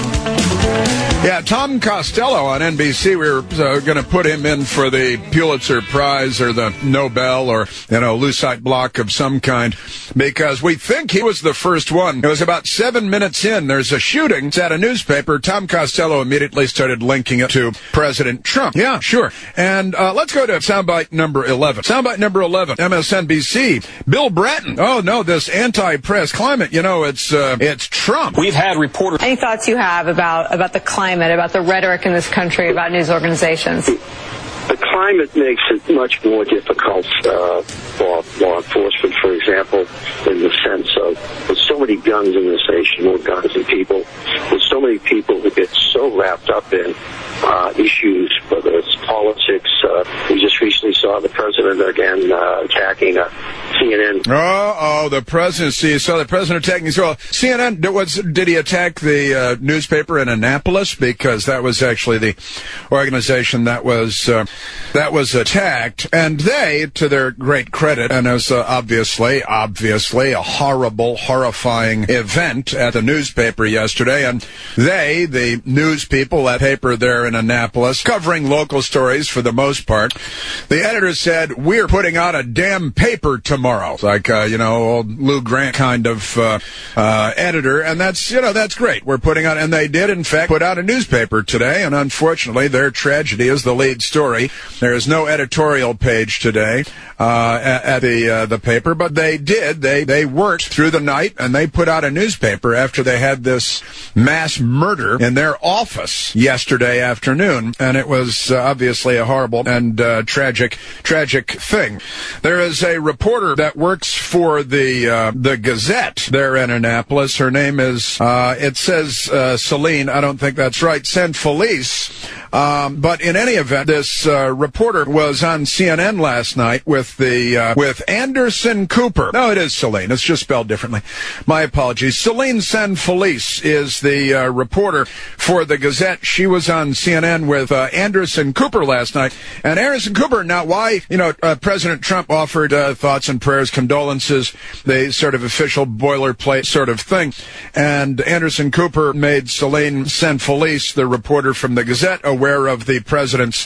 Yeah, Tom Costello on N B C, we were uh, going to put him in for the Pulitzer Prize or the Nobel or, you know, Lucite Block of some kind because we think he was the first one. It was about seven minutes in. There's a shooting. It's at a newspaper. Tom Costello immediately started linking it to President Trump. Yeah, sure. And uh, let's go to soundbite number eleven. Soundbite number eleven, M S N B C. Bill Bratton. Oh, no, this anti-press climate, you know, it's uh, it's Trump. We've had reporters. Any thoughts you have about, about the climate? About the rhetoric in this country about news organizations? The climate makes it much more difficult uh, for law enforcement, for example, in the sense of there's so many guns in this nation, more guns than people. There's so many people who get so wrapped up in uh, issues, whether it's politics. Uh, we just recently saw the president again uh, attacking uh, C N N. Oh, oh, the presidency. You saw the president attacking as well. C N N, was, did he attack the uh, newspaper in Annapolis? Because that was actually the organization that was... Uh, That was attacked, and they, to their great credit, and it was uh, obviously, obviously a horrible, horrifying event at the newspaper yesterday, and they, the news people at paper there in Annapolis, covering local stories for the most part, the editor said, we're putting out a damn paper tomorrow. It's like, uh, you know, old Lou Grant kind of uh, uh, editor, and that's, you know, that's great. We're putting out, and they did, in fact, put out a newspaper today, and unfortunately, their tragedy is the lead story. There is no editorial page today uh, at, at the uh, the paper, but they did. They they worked through the night, and they put out a newspaper after they had this mass murder in their office yesterday afternoon, and it was uh, obviously a horrible and uh, tragic tragic thing. There is a reporter that works for the uh, the Gazette there in Annapolis. Her name is uh, it says uh, Celine. I don't think that's right. Sanfelice. Um, but in any event, this uh, reporter was on C N N last night with the uh, with Anderson Cooper. No, it is Celine. It's just spelled differently. My apologies. Celine Sanfelice is the uh, reporter for the Gazette. She was on C N N with uh, Anderson Cooper last night. And Anderson Cooper, now why, you know, uh, President Trump offered uh, thoughts and prayers, condolences, the sort of official boilerplate sort of thing. And Anderson Cooper made Celine Sanfelice, the reporter from the Gazette, aware of the president's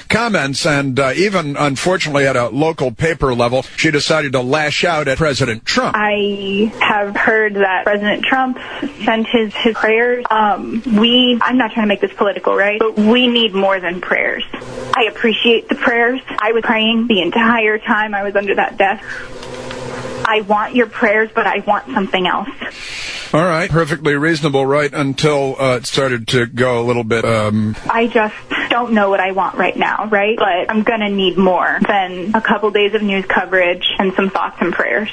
comments, and uh, even, unfortunately, at a local paper level, she decided to lash out at President Trump. I have heard that President Trump sent his, his prayers. Um, we, I'm not trying to make this political, right? But we need more than prayers. I appreciate the prayers. I was praying the entire time I was under that desk. I want your prayers, but I want something else. All right. Perfectly reasonable, right, until uh, it started to go a little bit... Um... I just don't know what I want right now, right? But I'm going to need more than a couple days of news coverage and some thoughts and prayers.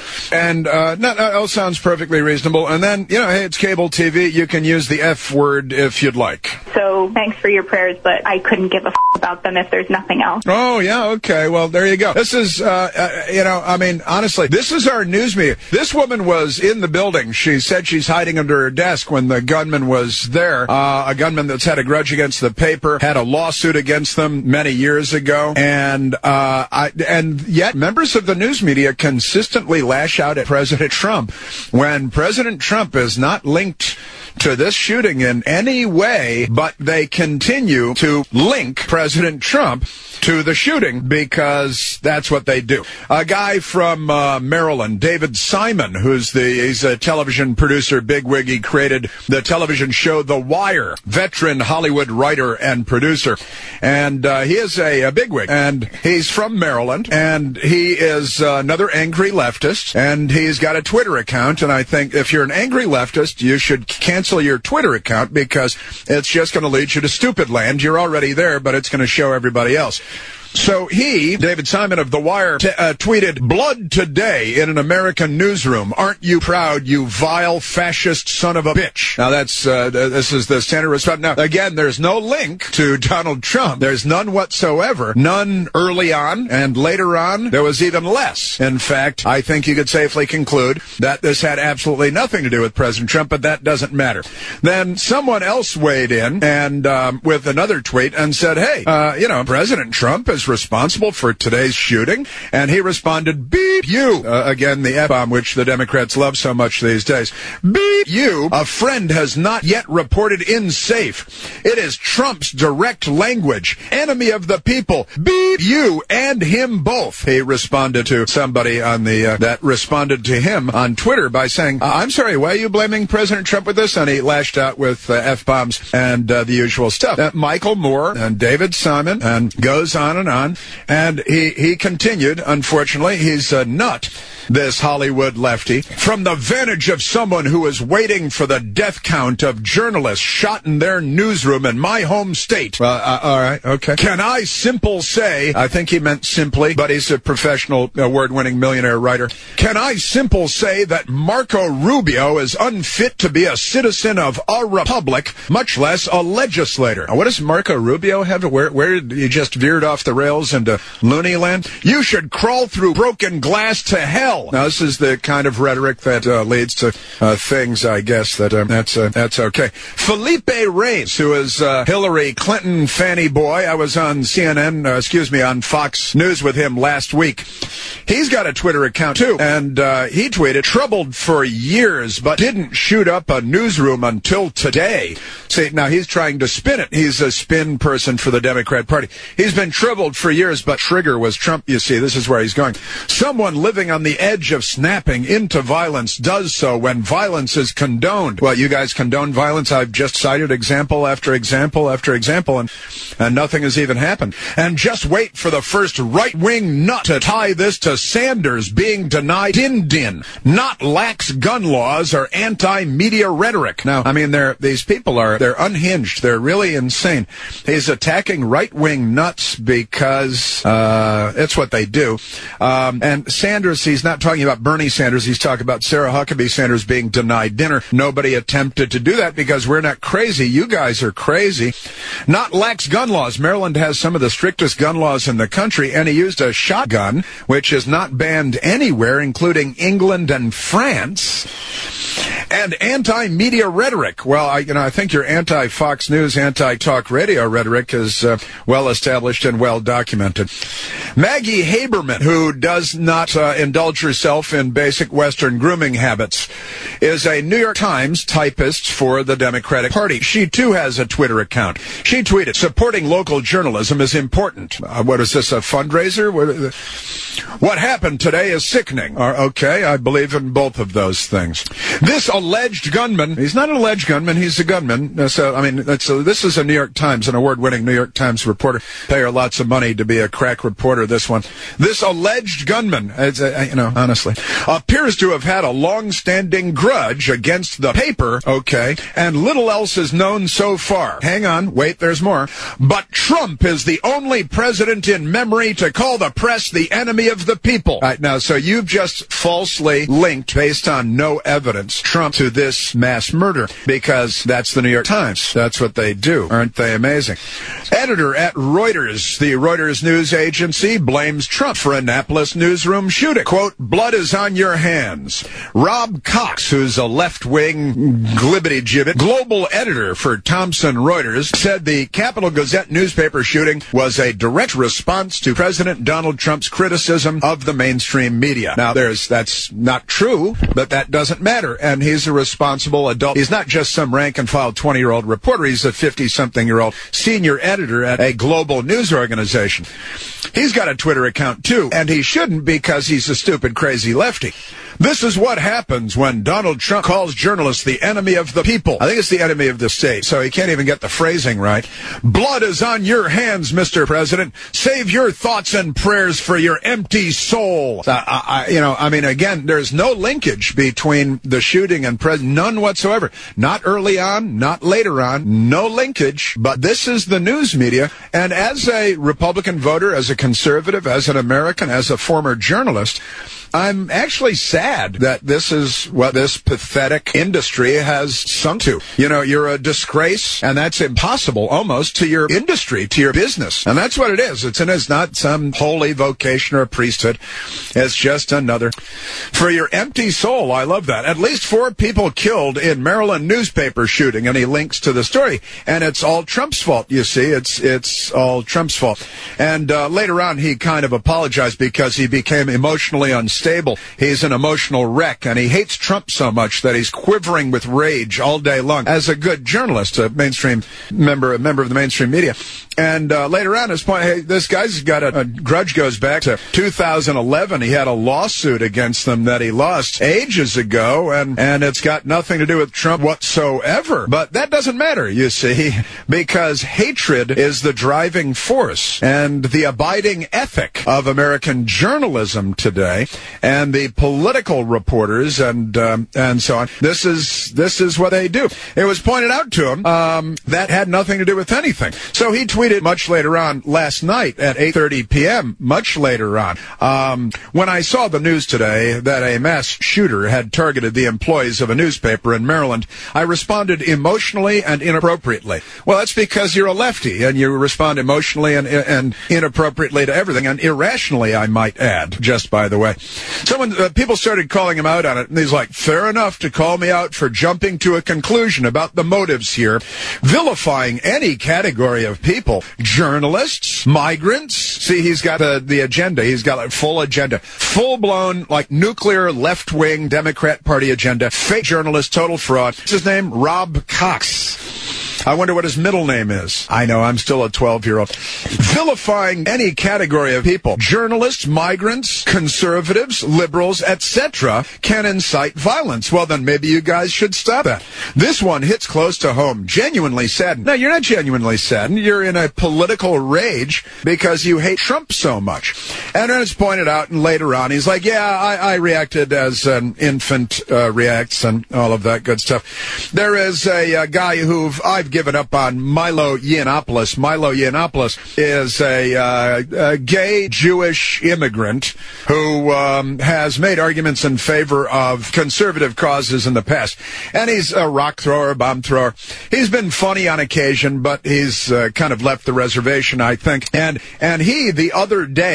And uh, no, that all sounds perfectly reasonable. And then, you know, hey, it's cable T V. You can use the F word if you'd like. So thanks for your prayers, but I couldn't give a f- about them if there's nothing else. Oh, yeah, okay. Well, there you go. This is, uh, uh, you know, I mean, honestly, this is our news media. This woman was in the building. She said she's hiding under her desk when the gunman was there. Uh, a gunman that's had a grudge against the paper, had a lawsuit against them many years ago. And, uh, I, and yet members of the news media consistently lash out at President Trump when President Trump is not linked to this shooting in any way, but they continue to link President Trump to the shooting because that's what they do. A guy from uh, Maryland, David Simon, who's the he's a television producer, bigwig. He created the television show The Wire, veteran Hollywood writer and producer. And uh, he is a, a bigwig, and he's from Maryland, and he is uh, another angry leftist, and he's got a Twitter account, and I think if you're an angry leftist, you should cancel your Twitter account because it's just going to lead you to stupid land. You're already there, but it's going to show everybody else. So he, David Simon of The Wire, t- uh, tweeted, "Blood today in an American newsroom. Aren't you proud, you vile fascist son of a bitch?" Now that's, uh, this is the standard response. Now, again, there's no link to Donald Trump. There's none whatsoever. None early on, and later on, there was even less. In fact, I think you could safely conclude that this had absolutely nothing to do with President Trump, but that doesn't matter. Then someone else weighed in and, um, with another tweet and said, hey, uh, you know, President Trump is responsible for today's shooting, and he responded, beep you. Uh, again, the F-bomb, which the Democrats love so much these days. Beep you. A friend has not yet reported in safe. It is Trump's direct language. Enemy of the people. Beep you and him both. He responded to somebody on the uh, that responded to him on Twitter by saying, uh, I'm sorry, why are you blaming President Trump with this? And he lashed out with uh, F-bombs and uh, the usual stuff. Uh, Michael Moore and David Simon, and goes on and on. And he, he continued, unfortunately, he's a nut, this Hollywood lefty, from the vantage of someone who is waiting for the death count of journalists shot in their newsroom in my home state. Uh, uh, all right, okay. Can I simple say, I think he meant simply, but he's a professional award-winning millionaire writer. Can I simple say that Marco Rubio is unfit to be a citizen of a republic, much less a legislator? Now, what does Marco Rubio have to, where, where did he just veered off the rails into loony land? You should crawl through broken glass to hell. Now, this is the kind of rhetoric that uh, leads to uh, things, I guess, that um, that's uh, that's okay. Felipe Reyes, who is uh, Hillary Clinton fanny boy, I was on C N N, uh, excuse me, on Fox News with him last week. He's got a Twitter account, too, and uh, he tweeted, troubled for years, but didn't shoot up a newsroom until today. See, now he's trying to spin it. He's a spin person for the Democrat Party. He's been troubled for years, but trigger was Trump, you see. This is where he's going. Someone living on the edge of snapping into violence does so when violence is condoned. Well, you guys condone violence. I've just cited example after example after example, and, and nothing has even happened. And just wait for the first right-wing nut to tie this to Sanders being denied din din, not lax gun laws or anti-media rhetoric. Now, I mean, they're, these people are, they're unhinged. They're really insane. He's attacking right-wing nuts because uh, it's what they do. Um, and Sanders, he's not talking about Bernie Sanders. He's talking about Sarah Huckabee Sanders being denied dinner. Nobody attempted to do that because we're not crazy. You guys are crazy. Not lax gun laws. Maryland has some of the strictest gun laws in the country, and he used a shotgun, which is not banned anywhere, including England and France. And anti-media rhetoric. Well, I, you know, I think your anti-Fox News, anti-talk radio rhetoric is uh, well established and well documented. Maggie Haberman, who does not uh, indulge herself in basic Western grooming habits, is a New York Times typist for the Democratic Party. She, too, has a Twitter account. She tweeted, supporting local journalism is important. Uh, what is this, a fundraiser? What, what happened today is sickening. Uh, okay, I believe in both of those things. This alleged gunman, he's not an alleged gunman, he's a gunman. Uh, so, I mean, that's a, this is a New York Times, an award-winning New York Times reporter. Pay her lots of money to be a crack reporter, this one. This alleged gunman, it's, uh, you know, honestly, appears to have had a long-standing grudge against the paper, okay, and little else is known so far. Hang on, wait, there's more. But Trump is the only president in memory to call the press the enemy of the people. All right, now, so you've just falsely linked, based on no evidence, Trump to this mass murder, because that's the New York Times. That's what they do. Aren't they amazing? Editor at Reuters, the Reuters news agency, blames Trump for Annapolis newsroom shooting. Quote, blood is on your hands. Rob Cox, who's a left-wing glibbity-gibbet global editor for Thomson Reuters, said the Capital Gazette newspaper shooting was a direct response to President Donald Trump's criticism of the mainstream media. Now, there's that's not true, but that doesn't matter, and he's a responsible adult. He's not just some rank-and-file twenty-year-old reporter. He's a fifty-something-year-old senior editor at a global news organization. He's got a Twitter account, too, and he shouldn't because he's a stupid, crazy lefty. This is what happens when Donald Trump calls journalists the enemy of the people. I think it's the enemy of the state, so he can't even get the phrasing right. Blood is on your hands, Mister President. Save your thoughts and prayers for your empty soul. Uh, I, you know, I mean, again, there's no linkage between the shooting and president, none whatsoever. Not early on, not later on, no linkage. But this is the news media, and as a Republican voter, as a conservative, as an American, as a former journalist, I'm actually sad that this is what this pathetic industry has sunk to. You know, you're a disgrace, and that's impossible almost to your industry, to your business. And that's what it is. It's, and it's not some holy vocation or priesthood. It's just another. For your empty soul, I love that. At least four people killed in Maryland newspaper shooting, and he links to the story. And it's all Trump's fault, you see. It's, it's all Trump's fault. And uh, later on, he kind of apologized because he became emotionally unstable. Stable. He's an emotional wreck, and he hates Trump so much that he's quivering with rage all day long. As a good journalist, a mainstream member, a member of the mainstream media. And uh, later on, his point, hey, this guy's got a, a grudge goes back to two thousand eleven. He had a lawsuit against them that he lost ages ago, and, and it's got nothing to do with Trump whatsoever. But that doesn't matter, you see, because hatred is the driving force and the abiding ethic of American journalism today. And the political reporters and um, and so on. This is this is what they do. It was pointed out to him um, that had nothing to do with anything. So he tweeted much later on last night at eight thirty p.m. Much later on, um, when I saw the news today that a mass shooter had targeted the employees of a newspaper in Maryland, I responded emotionally and inappropriately. Well, that's because you're a lefty and you respond emotionally and and inappropriately to everything, and irrationally, I might add. Just by the way. Someone, uh, people started calling him out on it, and he's like, fair enough to call me out for jumping to a conclusion about the motives here, vilifying any category of people, journalists, migrants. See, he's got the, the agenda. He's got a full agenda, full-blown, like, nuclear left-wing Democrat Party agenda, fake journalist, total fraud. What's his name? Rob Cox. I wonder what his middle name is. I know, I'm still a twelve-year-old. Vilifying any category of people, journalists, migrants, conservatives, liberals, et cetera, can incite violence. Well, then maybe you guys should stop that. This one hits close to home. Genuinely saddened. No, you're not genuinely saddened. You're in a political rage because you hate Trump so much. And then it's pointed out, and later on, he's like, yeah, I, I reacted as an infant uh, reacts and all of that good stuff. There is a, a guy who I've given up on, Milo Yiannopoulos. Milo Yiannopoulos is a, uh, a gay Jewish immigrant who um, has made arguments in favor of conservative causes in the past. And he's a rock thrower, bomb thrower. He's been funny on occasion, but he's uh, kind of left the reservation, I think. And and he, the other day, over the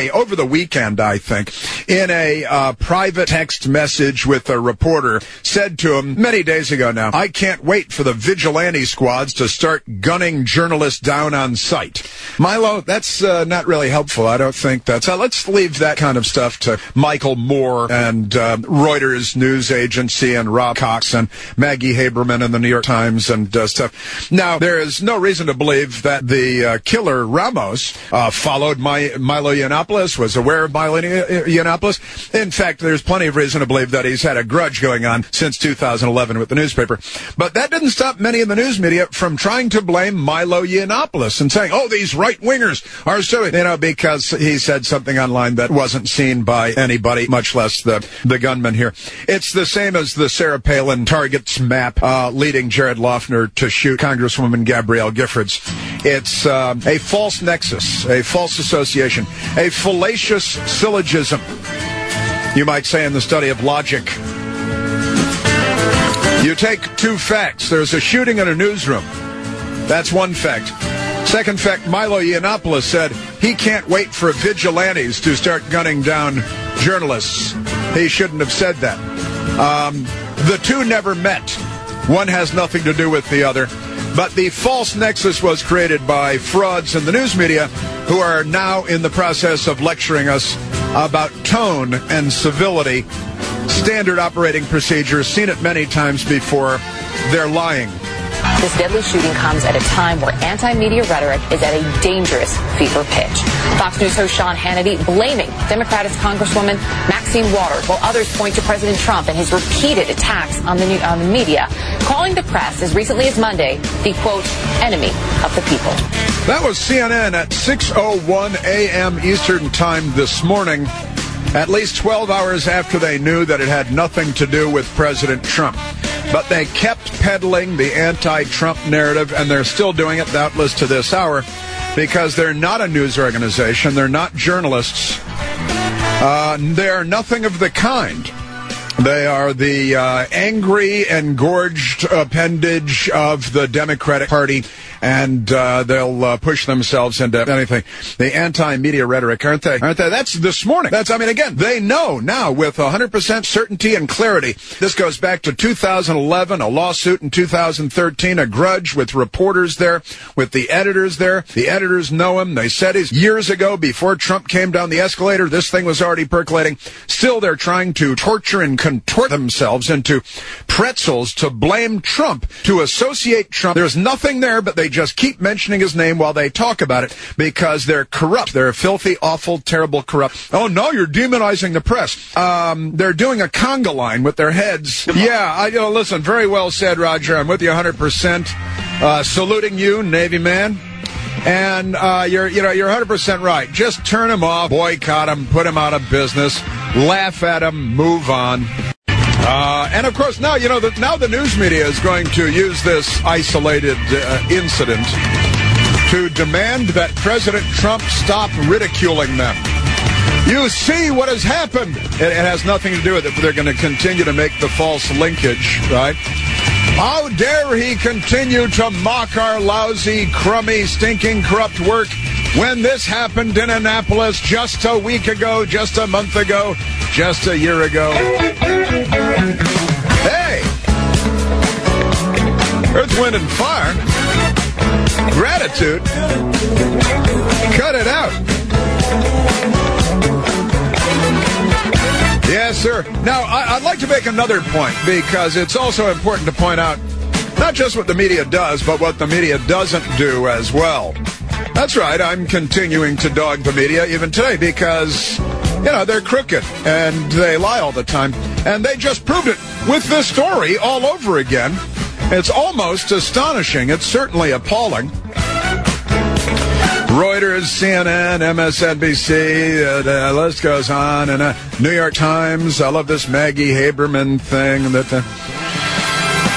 the weekend, I think, in a uh, private text message with a reporter, said to him many days ago now, I can't wait for the vigilante squads to start gunning journalists down on sight. Milo, that's uh, not really helpful. I don't think that's... Uh, let's leave that kind of stuff to Michael Moore and uh, Reuters news agency and Rob Cox and Maggie Haberman and the New York Times and uh, stuff. Now, there is no reason to believe that the uh, killer Ramos uh, followed my, Milo Yiannopoulos, was aware of Milo Yiannopoulos. In fact, there's plenty of reason to believe that he's had a grudge going on since two thousand eleven with the newspaper. But that didn't stop many in the news media from trying to blame Milo Yiannopoulos and saying, oh, these right-wingers are so, you know, because he said something online that wasn't seen by anybody, much less the, the gunman here. It's the same as the Sarah Palin targets map uh, leading Jared Loughner to shoot Congresswoman Gabrielle Giffords. It's uh, a false nexus, a false association, a fallacious syllogism, you might say, in the study of logic. You take two facts. There's a shooting in a newsroom. That's one fact. Second fact, Milo Yiannopoulos said he can't wait for vigilantes to start gunning down journalists. He shouldn't have said that. Um, the two never met. One has nothing to do with the other. But the false nexus was created by frauds in the news media who are now in the process of lecturing us about tone and civility, standard operating procedures, seen it many times before. They're lying. This deadly shooting comes at a time where anti-media rhetoric is at a dangerous fever pitch. Fox News host Sean Hannity blaming Democratic Congresswoman Maxine Waters, while others point to President Trump and his repeated attacks on the, new, on the media, calling the press as recently as Monday the, quote, enemy of the people. That was C N N at six oh one a.m. Eastern Time this morning, at least twelve hours after they knew that it had nothing to do with President Trump. But they kept peddling the anti-Trump narrative, and they're still doing it, doubtless, to this hour, because they're not a news organization. They're not journalists. Uh, they're nothing of the kind. They are the uh, angry, engorged appendage of the Democratic Party, and uh, they'll uh, push themselves into anything. The anti-media rhetoric, aren't they? Aren't they? That's this morning. That's, I mean, again, they know now with one hundred percent certainty and clarity. This goes back to two thousand eleven, a lawsuit in two thousand thirteen, a grudge with reporters there, with the editors there. The editors know him. They said he's years ago, before Trump came down the escalator, this thing was already percolating. Still, they're trying to torture and contort themselves into pretzels to blame Trump, to associate Trump. There's nothing there, but they just keep mentioning his name while they talk about it because they're corrupt. They're filthy, awful, terrible, corrupt. Oh, no, you're demonizing the press. Um, they're doing a conga line with their heads. Yeah, I, you know, listen, very well said, Roger. I'm with you one hundred percent. Uh, saluting you, Navy man. And uh, you're, you know, you're one hundred percent right. Just turn him off, boycott him, put him out of business, laugh at him, move on. Uh, and, of course, now, you know, the, now the news media is going to use this isolated uh, incident to demand that President Trump stop ridiculing them. You see what has happened. It, it has nothing to do with it, but they're going to continue to make the false linkage, right? How dare he continue to mock our lousy, crummy, stinking, corrupt work when this happened in Annapolis just a week ago, just a month ago, just a year ago. Hey! Earth, Wind, and Fire. Gratitude. Cut it out. Yes, sir. Now, I, I'd like to make another point, because it's also important to point out not just what the media does, but what the media doesn't do as well. That's right. I'm continuing to dog the media even today because, you know, they're crooked and they lie all the time. And they just proved it with this story all over again. It's almost astonishing. It's certainly appalling. Reuters, C N N, M S N B C, uh, the list goes on, and uh, New York Times. I love this Maggie Haberman thing. That uh,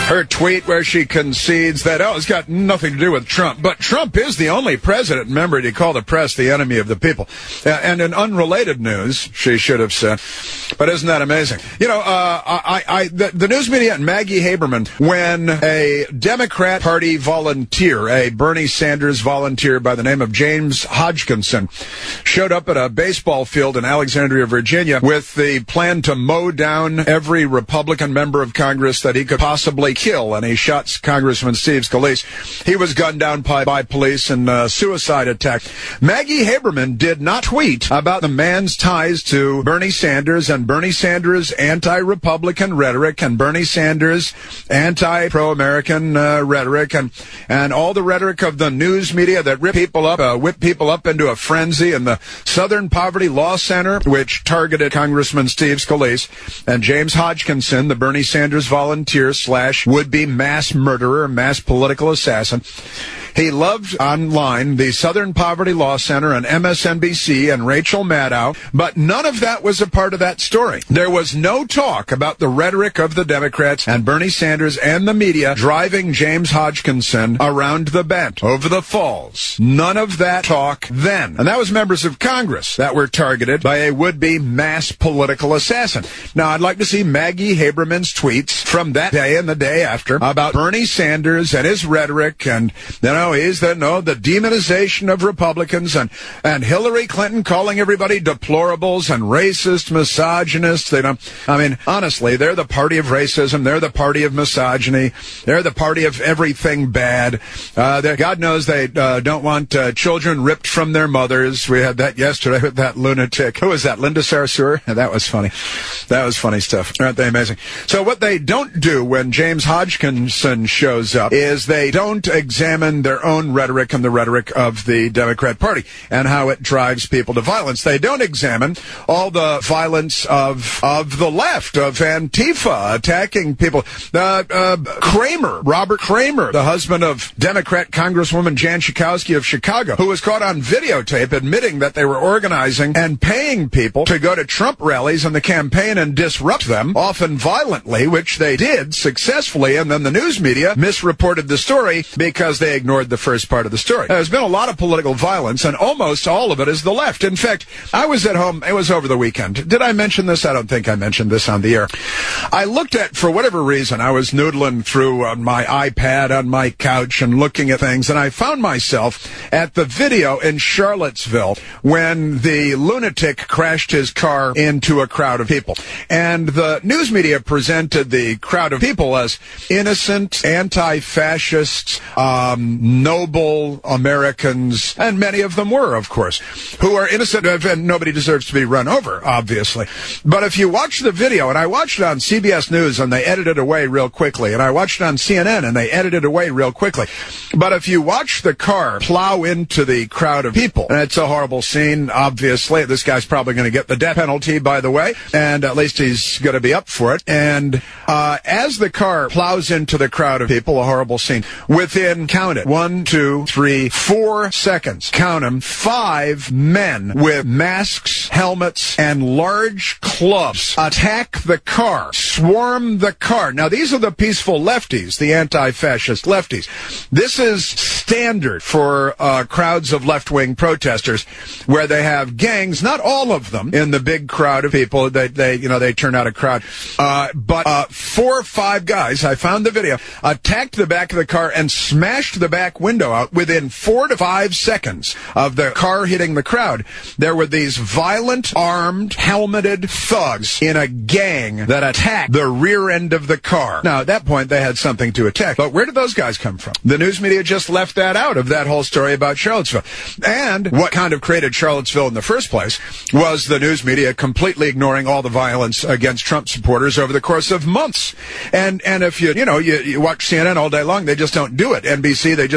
Her tweet where she concedes that, oh, it's got nothing to do with Trump. But Trump is the only president, remember, to call the press the enemy of the people. Uh, and in unrelated news, she should have said. But isn't that amazing? You know, uh, I, I, the, the news media and Maggie Haberman, when a Democrat Party volunteer, a Bernie Sanders volunteer by the name of James Hodgkinson, showed up at a baseball field in Alexandria, Virginia, with the plan to mow down every Republican member of Congress that he could possibly kill, and he shot Congressman Steve Scalise. He was gunned down by, by police in a suicide attack. Maggie Haberman did not tweet about the man's ties to Bernie Sanders and Bernie Sanders' anti-Republican rhetoric and Bernie Sanders' anti-pro-American uh, rhetoric and, and all the rhetoric of the news media that rip people up, uh, whip people up into a frenzy, and the Southern Poverty Law Center, which targeted Congressman Steve Scalise, and James Hodgkinson, the Bernie Sanders volunteer slash would-be mass murderer, mass political assassin. He loved online the Southern Poverty Law Center and M S N B C and Rachel Maddow, but none of that was a part of that story. There was no talk about the rhetoric of the Democrats and Bernie Sanders and the media driving James Hodgkinson around the bend over the falls. None of that talk then. And that was members of Congress that were targeted by a would-be mass political assassin. Now, I'd like to see Maggie Haberman's tweets from that day and the day after about Bernie Sanders and his rhetoric and, you know, is that no the demonization of Republicans and and Hillary Clinton calling everybody deplorables and racist, misogynists. They don't. I mean, honestly, they're the party of racism. They're the party of misogyny. They're the party of everything bad. Uh, God knows they uh, don't want uh, children ripped from their mothers. We had that yesterday with that lunatic. Who was that? Linda Sarsour? That was funny. That was funny stuff. Aren't they amazing? So what they don't do when James Hodgkinson shows up is they don't examine their own rhetoric and the rhetoric of the Democrat Party and how it drives people to violence. They don't examine all the violence of of the left, of Antifa, attacking people. Uh, uh, Kramer, Robert Kramer, the husband of Democrat Congresswoman Jan Schakowsky of Chicago, who was caught on videotape admitting that they were organizing and paying people to go to Trump rallies in the campaign and disrupt them, often violently, which they did successfully, and then the news media misreported the story because they ignored the first part of the story. There's been a lot of political violence, and almost all of it is the left. In fact, I was at home, it was over the weekend. Did I mention this? I don't think I mentioned this on the air. I looked at, for whatever reason, I was noodling through on my iPad on my couch and looking at things, and I found myself at the video in Charlottesville when the lunatic crashed his car into a crowd of people. And the news media presented the crowd of people as innocent, anti-fascist, um, noble Americans, and many of them were, of course, who are innocent, and nobody deserves to be run over, obviously. But if you watch the video, and I watched it on C B S News, and they edited it away real quickly, and I watched it on C N N, and they edited it away real quickly. But if you watch the car plow into the crowd of people, and it's a horrible scene, obviously, this guy's probably going to get the death penalty, by the way, and at least he's going to be up for it. And uh, as the car plows into the crowd of people, a horrible scene, within, count it, one, two, three, four seconds, count them, five men with masks, helmets, and large clubs attack the car, swarm the car. Now, these are the peaceful lefties, the anti-fascist lefties. This is standard for uh, crowds of left-wing protesters, where they have gangs, not all of them, in the big crowd of people. They, they you know, they turn out a crowd. Uh, but uh, four or five guys, I found the video, attacked the back of the car and smashed the back window out within four to five seconds of the car hitting the crowd. There were these violent, armed, helmeted thugs in a gang that attacked the rear end of the car. Now, at that point, they had something to attack. But where did those guys come from? The news media just left that out of that whole story about Charlottesville. And what kind of created Charlottesville in the first place was the news media completely ignoring all the violence against Trump supporters over the course of months. And and if you, you know, you, you watch C N N all day long, they just don't do it. N B C, they just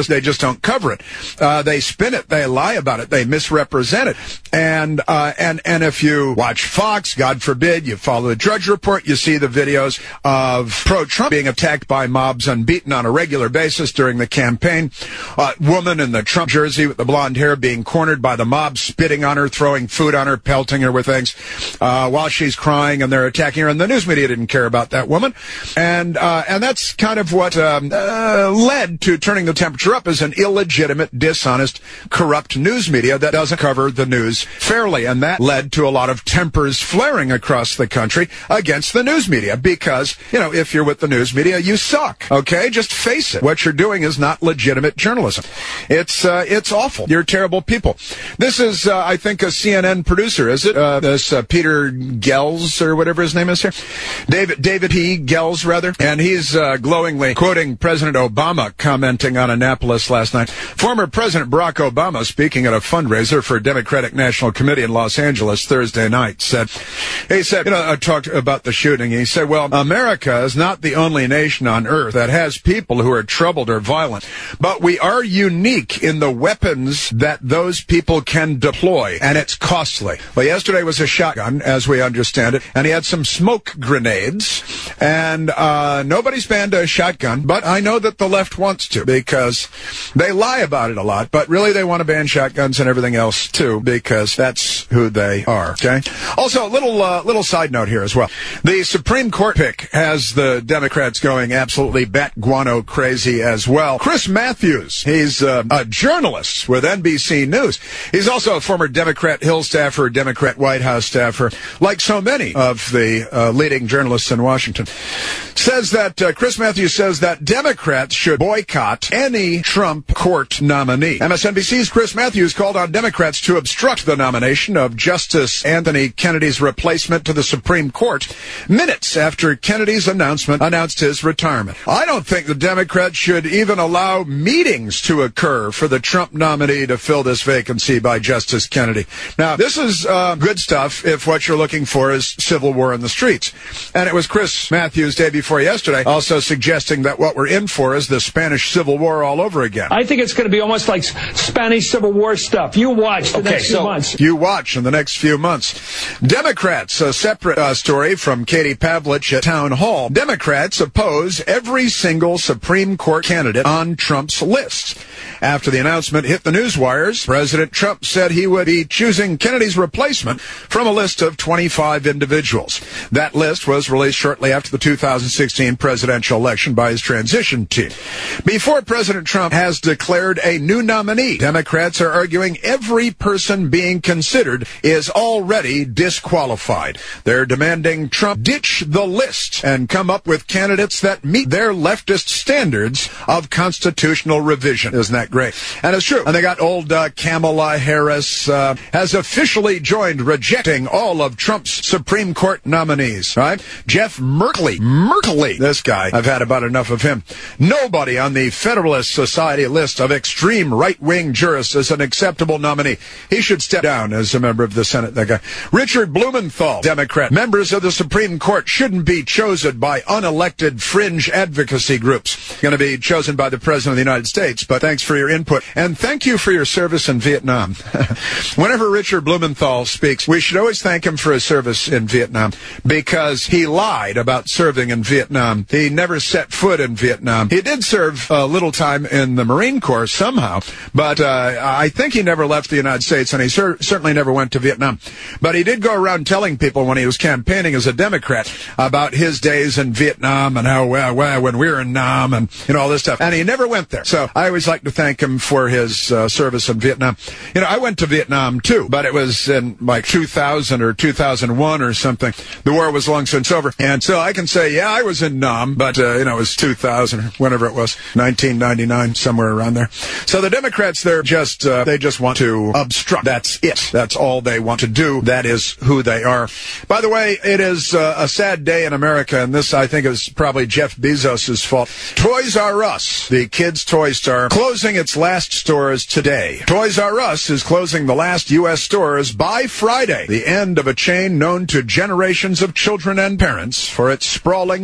just they just don't cover it. Uh, they spin it, they lie about it, they misrepresent it. And uh, and and if you watch Fox, God forbid, you follow the Drudge Report, you see the videos of pro-Trump being attacked by mobs and beaten on a regular basis during the campaign. Uh, woman in the Trump jersey with the blonde hair being cornered by the mob, spitting on her, throwing food on her, pelting her with things uh, while she's crying, and they're attacking her. And the news media didn't care about that woman. And uh, and that's kind of what um, uh, led to turning the temperature up, as an illegitimate, dishonest, corrupt news media that doesn't cover the news fairly. And that led to a lot of tempers flaring across the country against the news media because, you know, if you're with the news media, you suck, okay? Just face it. What you're doing is not legitimate journalism. It's uh, it's awful. You're terrible people. This is, uh, I think, a C N N producer, is it? Uh, this uh, Peter Gels, or whatever his name is here. David David P. Gels, rather. And he's uh, glowingly quoting President Obama commenting on Annapolis last night. Former President Barack Obama, speaking at a fundraiser for Democratic National Committee in Los Angeles Thursday night, said, he said, you know, I talked about the shooting. He said, well, America is not the only nation on earth that has people who are troubled or violent, but we are unique in the weapons that those people can deploy, and it's costly. Well, yesterday was a shotgun, as we understand it, and he had some smoke grenades, and uh, nobody's banned a shotgun, but I know that the left wants to, because they lie about it a lot, but really they want to ban shotguns and everything else, too, because that's who they are, okay? Also, a little, uh, little side note here as well. The Supreme Court pick has the Democrats going absolutely bat guano crazy as well. Chris Matthews, he's uh, a journalist with N B C News. He's also a former Democrat Hill staffer, Democrat White House staffer, like so many of the uh, leading journalists in Washington. Says that, uh, Chris Matthews says that Democrats should boycott any Trump court nominee. M S N B C's Chris Matthews called on Democrats to obstruct the nomination of Justice Anthony Kennedy's replacement to the Supreme Court minutes after Kennedy's announcement announced his retirement. I don't think the Democrats should even allow meetings to occur for the Trump nominee to fill this vacancy by Justice Kennedy. Now, this is uh, good stuff if what you're looking for is civil war in the streets. And it was Chris Matthews day before yesterday also suggesting that what we're in for is the Spanish Civil War all over again. I think it's going to be almost like Spanish Civil War stuff. You watch the okay, next few so months. You watch in the next few months. Democrats, a separate uh, story from Katie Pavlich at Town Hall. Democrats oppose every single Supreme Court candidate on Trump's list. After the announcement hit the news wires, President Trump said he would be choosing Kennedy's replacement from a list of twenty-five individuals. That list was released shortly after the two thousand sixteen presidential election by his transition team. Before President Trump has declared a new nominee, Democrats are arguing every person being considered is already disqualified. They're demanding Trump ditch the list and come up with candidates that meet their leftist standards of constitutional revision. Isn't that great? And it's true. And they got old uh, Kamala Harris uh, has officially joined rejecting all of Trump's Supreme Court nominees, right? Jeff Merkley. Merkley. This guy, I've had about enough of him. Nobody on the Federalist Society list of extreme right-wing jurists is an acceptable nominee. He should step down as a member of the Senate, that guy. Richard Blumenthal, Democrat. Members of the Supreme Court shouldn't be chosen by unelected fringe advocacy groups. Going to be chosen by the President of the United States, but thanks for your input. And thank you for your service in Vietnam. Whenever Richard Blumenthal speaks, we should always thank him for his service in Vietnam because he lied about serving in Vietnam. He never set foot in Vietnam. He did serve a little time in the Marine Corps somehow, but uh, I think he never left the United States, and he cer- certainly never went to Vietnam. But he did go around telling people when he was campaigning as a Democrat about his days in Vietnam and how, well, well when we were in Nam and, you know, all this stuff. And he never went there. So I always like to thank him for his uh, service in Vietnam. You know, I went to Vietnam, too, but it was in like two thousand or two thousand one or something. The war was long since over. And so I can say, yeah, I was in Nam, but, uh, you know, it was two thousand or whenever it was, nineteen ninety-nine, somewhere around there. So the Democrats, they're just, uh, they just want to obstruct. That's it. That's all they want to do. That is who they are. By the way, it is uh, a sad day in America, and this, I think, is probably Jeff Bezos' fault. Toys R Us, the kids' toy store, closing its last stores today. Toys R Us is closing the last U S stores by Friday, the end of a chain known to generations of children and parents for its sprawling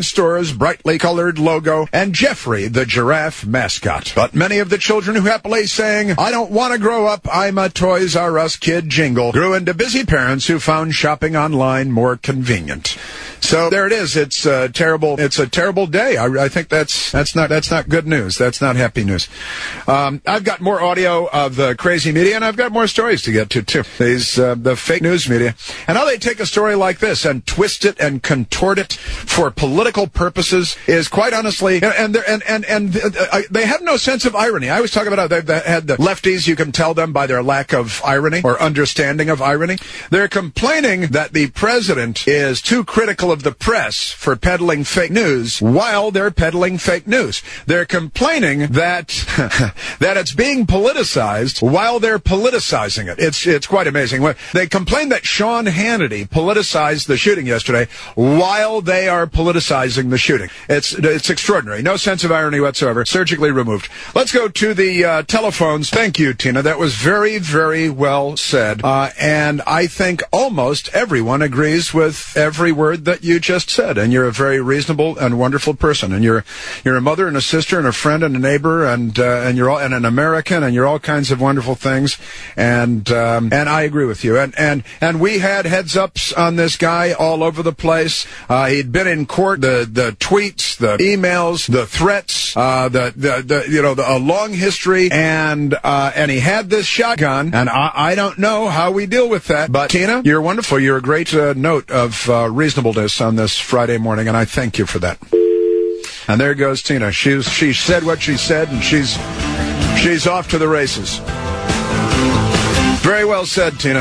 store's brightly colored logo, and Jeffrey, the giraffe mascot. But many of the children who happily sang, "I don't want to grow up, I'm a Toys R Us kid" jingle grew into busy parents who found shopping online more convenient. So there it is. It's a terrible. It's a terrible day. I, I think that's that's not that's not good news. That's not happy news. Um, I've got more audio of the crazy media, and I've got more stories to get to too. These uh, the fake news media, and how they take a story like this and twist it and contort it for political purposes is quite honestly, and and and and, and uh, they have no sense of irony. I was talking about how they had the lefties. You can tell them by their lack of irony or understanding of irony. They're complaining that the president is too critical of the press for peddling fake news while they're peddling fake news. They're complaining that that it's being politicized while they're politicizing it. It's it's quite amazing. They complain that Sean Hannity politicized the shooting yesterday while they are politicizing the shooting. It's it's extraordinary. No sense of irony whatsoever. Surgically removed. Let's go to the uh, telephones. Thank you, Tina. That was very, very well said. Uh, and I think almost everyone agrees with every word that you just said. And you're a very reasonable and wonderful person. And you're you're a mother and a sister and a friend and a neighbor and uh, and you're all and an American and you're all kinds of wonderful things. And um, and I agree with you. And and and we had heads ups on this guy all over the place. Uh, he'd been in court. The the tweets, the emails, the threats, uh, the, the the you know the, a long history. And uh, and he had this shotgun. And I, I don't know how we deal with that. But Tina, you're wonderful. You're a great uh, note of uh, reasonableness on this Friday morning, and I thank you for that. And there goes Tina. She's she said what she said, and she's she's off to the races. Very well said, Tina.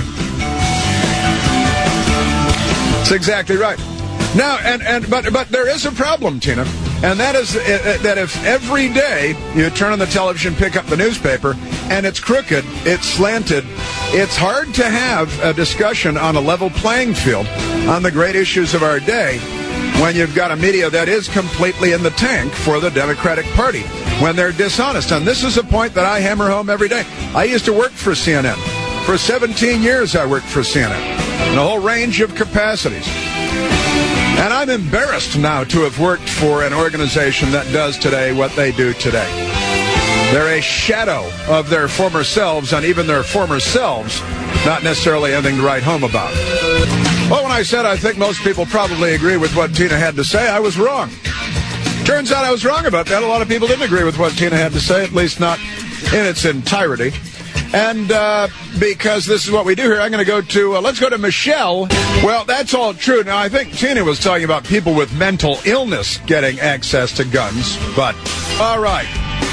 That's exactly right. Now, and, and but but there is a problem, Tina, and that is uh, that if every day you turn on the television, pick up the newspaper, and it's crooked, it's slanted, it's hard to have a discussion on a level playing field on the great issues of our day when you've got a media that is completely in the tank for the Democratic Party, when they're dishonest. And this is a point that I hammer home every day. I used to work for C N N. For seventeen years I worked for C N N in a whole range of capacities. And I'm embarrassed now to have worked for an organization that does today what they do today. They're a shadow of their former selves, and even their former selves, not necessarily anything to write home about. Well, when I said I think most people probably agree with what Tina had to say, I was wrong. Turns out I was wrong about that. A lot of people didn't agree with what Tina had to say, at least not in its entirety. And uh, because this is what we do here, I'm going to go to, uh, let's go to Michelle. Well, that's all true. Now, I think Tina was talking about people with mental illness getting access to guns, but all right.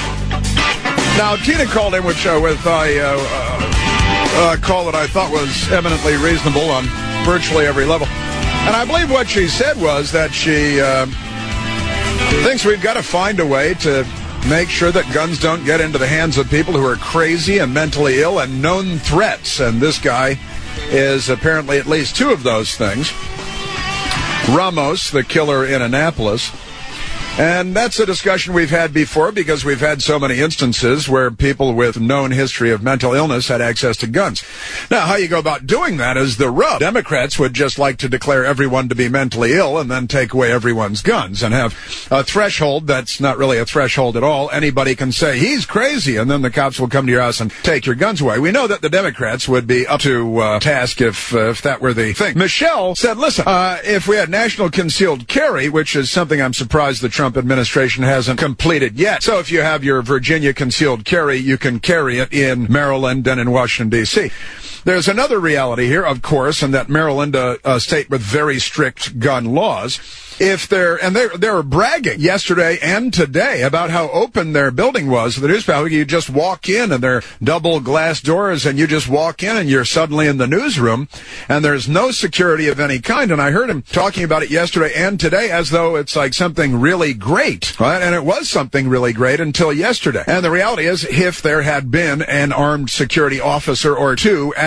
Now, Tina called in with, uh, with a uh, uh, call that I thought was eminently reasonable on virtually every level. And I believe what she said was that she uh, thinks we've got to find a way to make sure that guns don't get into the hands of people who are crazy and mentally ill and known threats. And this guy is apparently at least two of those things. Ramos, the killer in Annapolis. And that's a discussion we've had before because we've had so many instances where people with known history of mental illness had access to guns. Now, how you go about doing that is the rub. Democrats would just like to declare everyone to be mentally ill and then take away everyone's guns and have a threshold that's not really a threshold at all. Anybody can say, he's crazy, and then the cops will come to your house and take your guns away. We know that the Democrats would be up to uh, task if uh, if that were the thing. Michelle said, listen, uh, if we had national concealed carry, which is something I'm surprised the Trump administration hasn't completed yet. So if you have your Virginia concealed carry, you can carry it in Maryland and in Washington, D C There's another reality here, of course, and that Maryland, uh, a state with very strict gun laws, if they're, and they they were bragging yesterday and today about how open their building was. The newspaper, you just walk in and they're double glass doors and you just walk in and you're suddenly in the newsroom and there's no security of any kind. And I heard him talking about it yesterday and today as though it's like something really great, right? And it was something really great until yesterday. And the reality is, if there had been an armed security officer or two at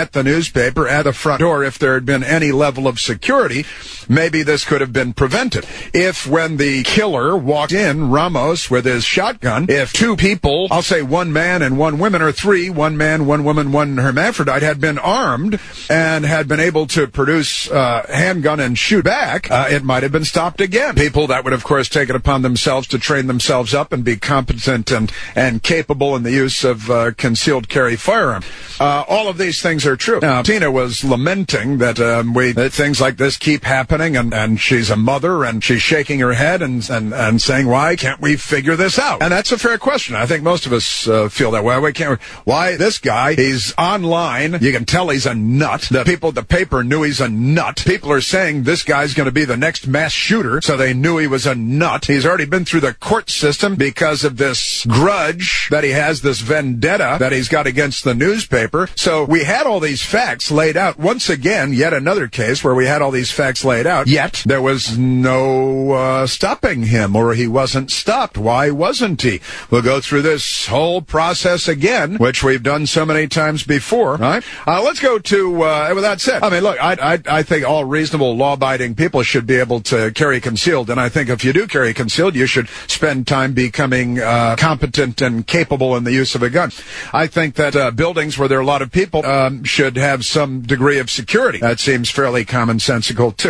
at the newspaper, at the front door, if there had been any level of security, maybe this could have been prevented. If when the killer walked in, Ramos, with his shotgun, if two people, I'll say one man and one woman, or three, one man, one woman, one hermaphrodite, had been armed and had been able to produce a uh, handgun and shoot back, uh, it might have been stopped again. People that would, of course, take it upon themselves to train themselves up and be competent and, and capable in the use of uh, concealed carry firearm. Uh, all of these things are true. Now, Tina was lamenting that um, we that things like this keep happening, and, and she's a mother, and she's shaking her head and, and, and saying, why can't we figure this out? And that's a fair question. I think most of us uh, feel that way. Why can't we, why this guy, he's online, you can tell he's a nut. The people at the paper knew he's a nut. People are saying this guy's going to be the next mass shooter, so they knew he was a nut. He's already been through the court system because of this grudge that he has, this vendetta that he's got against the newspaper. So we had all these facts laid out. Once again, yet another case where we had all these facts laid out, yet there was no uh, stopping him, or he wasn't stopped. Why wasn't he? We'll go through this whole process again, which we've done so many times before, right? Uh, let's go to, uh, with that said, I mean, look, I, I, I think all reasonable law-abiding people should be able to carry concealed, and I think if you do carry concealed, you should spend time becoming uh, competent and capable in the use of a gun. I think that uh, buildings where there are a lot of people um, should have some degree of security. That seems fairly commonsensical, too.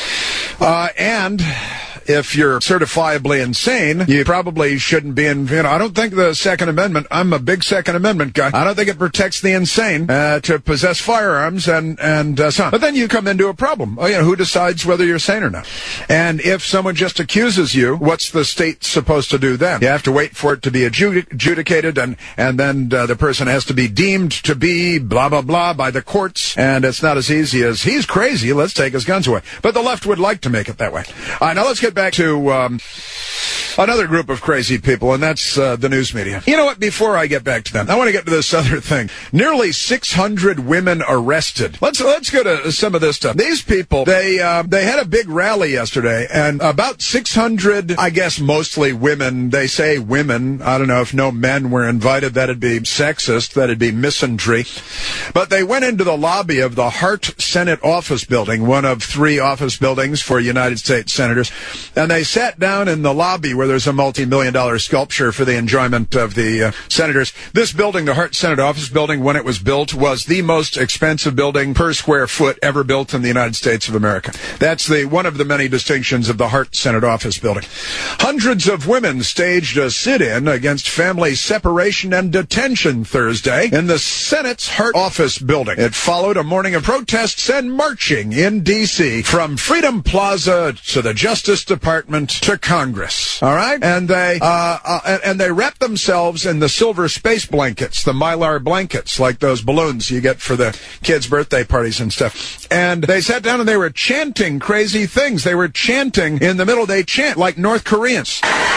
Uh, and if you're certifiably insane, you probably shouldn't be in, you know, I don't think the Second Amendment, I'm a big Second Amendment guy, I don't think it protects the insane uh, to possess firearms and, and uh, so on. But then you come into a problem. Oh, you know, who decides whether you're sane or not? And if someone just accuses you, what's the state supposed to do then? You have to wait for it to be adjudic- adjudicated, and, and then uh, the person has to be deemed to be blah, blah, blah by the courts, and it's not as easy as, he's crazy, let's take his guns away. But the left would like to make it that way. All right, now let's get back to um, another group of crazy people, and that's uh, the news media. You know what? Before I get back to them, I want to get to this other thing. Nearly six hundred women arrested. Let's let's go to some of this stuff. These people, they uh, they had a big rally yesterday, and about six hundred, I guess mostly women, they say women, I don't know if no men were invited, that'd be sexist, that'd be misandry, but they went into the lobby of the Hart Senate office building, one of three office buildings for United States senators, and they sat down in the lobby where there's a multi-million dollar sculpture for the enjoyment of the uh, senators. This building, the Hart Senate office building, when it was built, was the most expensive building per square foot ever built in the United States of America. That's the one of the many distinctions of the Hart Senate office building. Hundreds of women staged a sit-in against family separation and detention Thursday in the Senate's Hart office building. It followed a morning of protests and marching in D C from Freedom Plaza to the Justice Department to Congress. All right? And they uh, uh and, and they wrapped themselves in the silver space blankets, the Mylar blankets, like those balloons you get for the kids' birthday parties and stuff. And they sat down and they were chanting crazy things. They were chanting in the middle. They chant like North Koreans.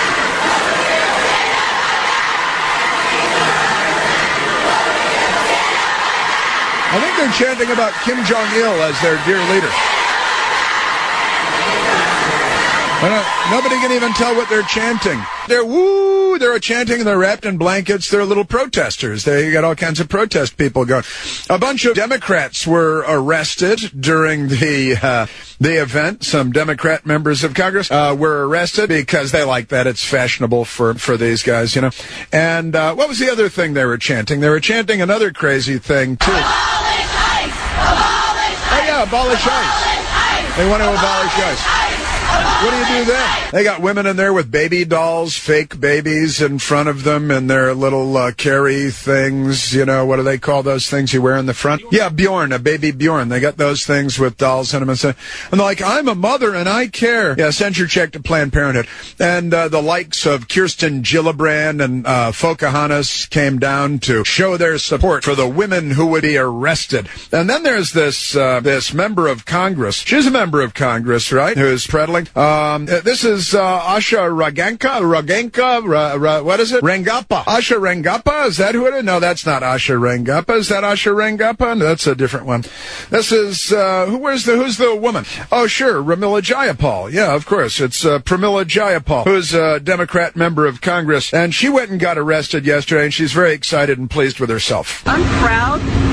I think they're chanting about Kim Jong-il as their dear leader. Nobody can even tell what they're chanting. They're woo, they're chanting, they're wrapped in blankets, they're little protesters. They got all kinds of protest people going. A bunch of Democrats were arrested during the uh, the event. Some Democrat members of Congress uh, were arrested because they like that. It's fashionable for, for these guys, you know. And uh, what was the other thing they were chanting? They were chanting another crazy thing, too. Abolish ICE! Abolish ICE! Oh, yeah, abolish ICE. They want to abolish ICE. What do you do then? They got women in there with baby dolls, fake babies in front of them, and their little uh, carry things. You know, what do they call those things you wear in the front? Yeah, Bjorn, a baby Bjorn. They got those things with dolls in them. And, so, and they're like, I'm a mother and I care. Yeah, send your check to Planned Parenthood. And uh, the likes of Kirsten Gillibrand and uh, Pocahontas came down to show their support for the women who would be arrested. And then there's this uh, this member of Congress. She's a member of Congress, right, who's peddling. Um, this is uh, Asha Raganka, Raganka, Ra, Ra, what is it? Rangappa. Asha Rangappa? Is that who it is? No, that's not Asha Rangappa. Is that Asha Rangappa? No, that's a different one. This is, uh, who, where's the, who's the woman? Oh, sure, Pramila Jayapal. Yeah, of course. It's uh, Pramila Jayapal, who's a Democrat member of Congress. And she went and got arrested yesterday, and she's very excited and pleased with herself. I'm proud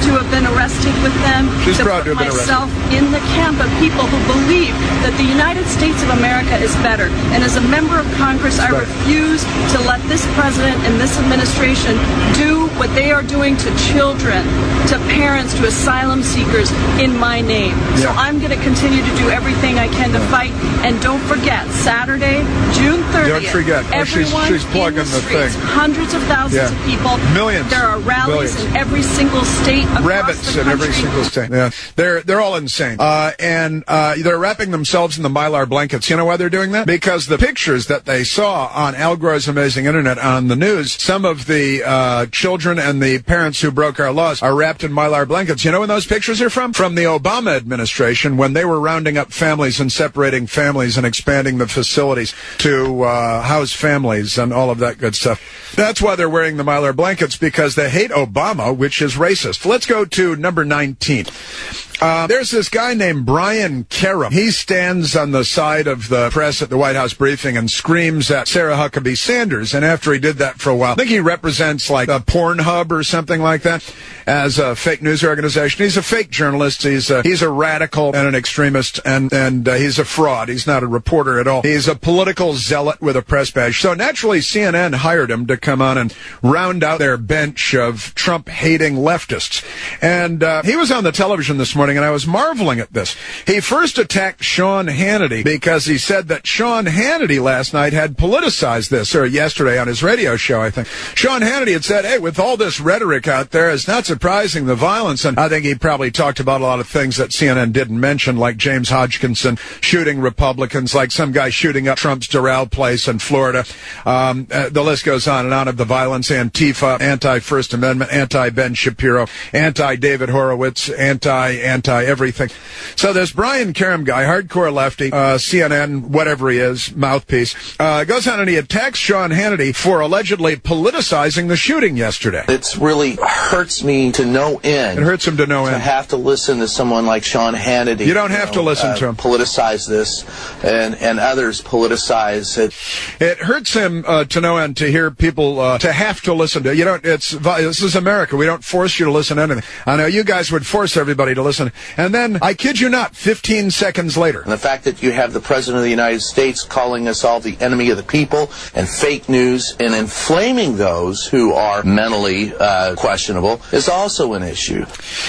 to have been arrested with them. She's to proud put to have been myself in the camp of people who believe that the United States of America is better. And as a member of Congress, I refuse to let this president and this administration do what they are doing to children, to parents, to asylum seekers in my name. So Yeah. I'm going to continue to do everything I can to fight. And don't forget, Saturday, June thirtieth. Don't forget. Oh, she's- everyone she's plugging in the, the streets, thing. hundreds of thousands Yeah. of people. Millions. There are rallies Billions. in every single state across Rabbits the in country. every single state. Yeah, they're they're all insane. Uh, and uh, they're wrapping themselves in the Mylar blankets. You know why they're doing that? Because the pictures that they saw on Al Gore's Amazing Internet on the news, some of the uh, children and the parents who broke our laws are wrapped in Mylar blankets. You know when those pictures are from? From the Obama administration when they were rounding up families and separating families and expanding the facilities to uh, house families and all of that good stuff. That's why they're wearing the Mylar blankets, because they hate Obama, which is racist. Let's go to number nineteen. Uh, there's this guy named Brian Karem. He stands on the side of the press at the White House briefing and screams at Sarah Huckabee Sanders. And after he did that for a while, I think he represents like a Pornhub or something like that as a fake news organization. He's a fake journalist. He's a, he's a radical and an extremist, and, and uh, he's a fraud. He's not a reporter at all. He's a political zealot with a press badge. So naturally, C N N hired him to come on and round out their bench of Trump-hating leftists. And uh, he was on the television this morning, and I was marveling at this. He first attacked Sean Hannity because he said that Sean Hannity last night had politicized this, or yesterday on his radio show, I think. Sean Hannity had said, hey, with all this rhetoric out there, it's not surprising the violence. And I think he probably talked about a lot of things that C N N didn't mention, like James Hodgkinson shooting Republicans, like some guy shooting up Trump's Doral place in Florida. Um, uh, the list goes on and on of the violence, Antifa, anti-First Amendment, anti-Ben Shapiro, anti-David Horowitz, anti-anti everything. So this Brian Karem guy, hardcore lefty, uh, C N N, whatever he is, mouthpiece, uh, goes on and he attacks Sean Hannity for allegedly politicizing the shooting yesterday. It really hurts me to no end. It hurts him to no to end. have to listen to someone like Sean Hannity. You don't have know, to listen uh, to him. Politicize this, and, and others politicize it. It hurts him uh, to no end to hear people uh, to have to listen to. You don't. It's this is America. We don't force you to listen to anything. I know you guys would force everybody to listen. And then, I kid you not, fifteen seconds later. And the fact that you have the President of the United States calling us all the enemy of the people and fake news and inflaming those who are mentally uh, questionable is also an issue.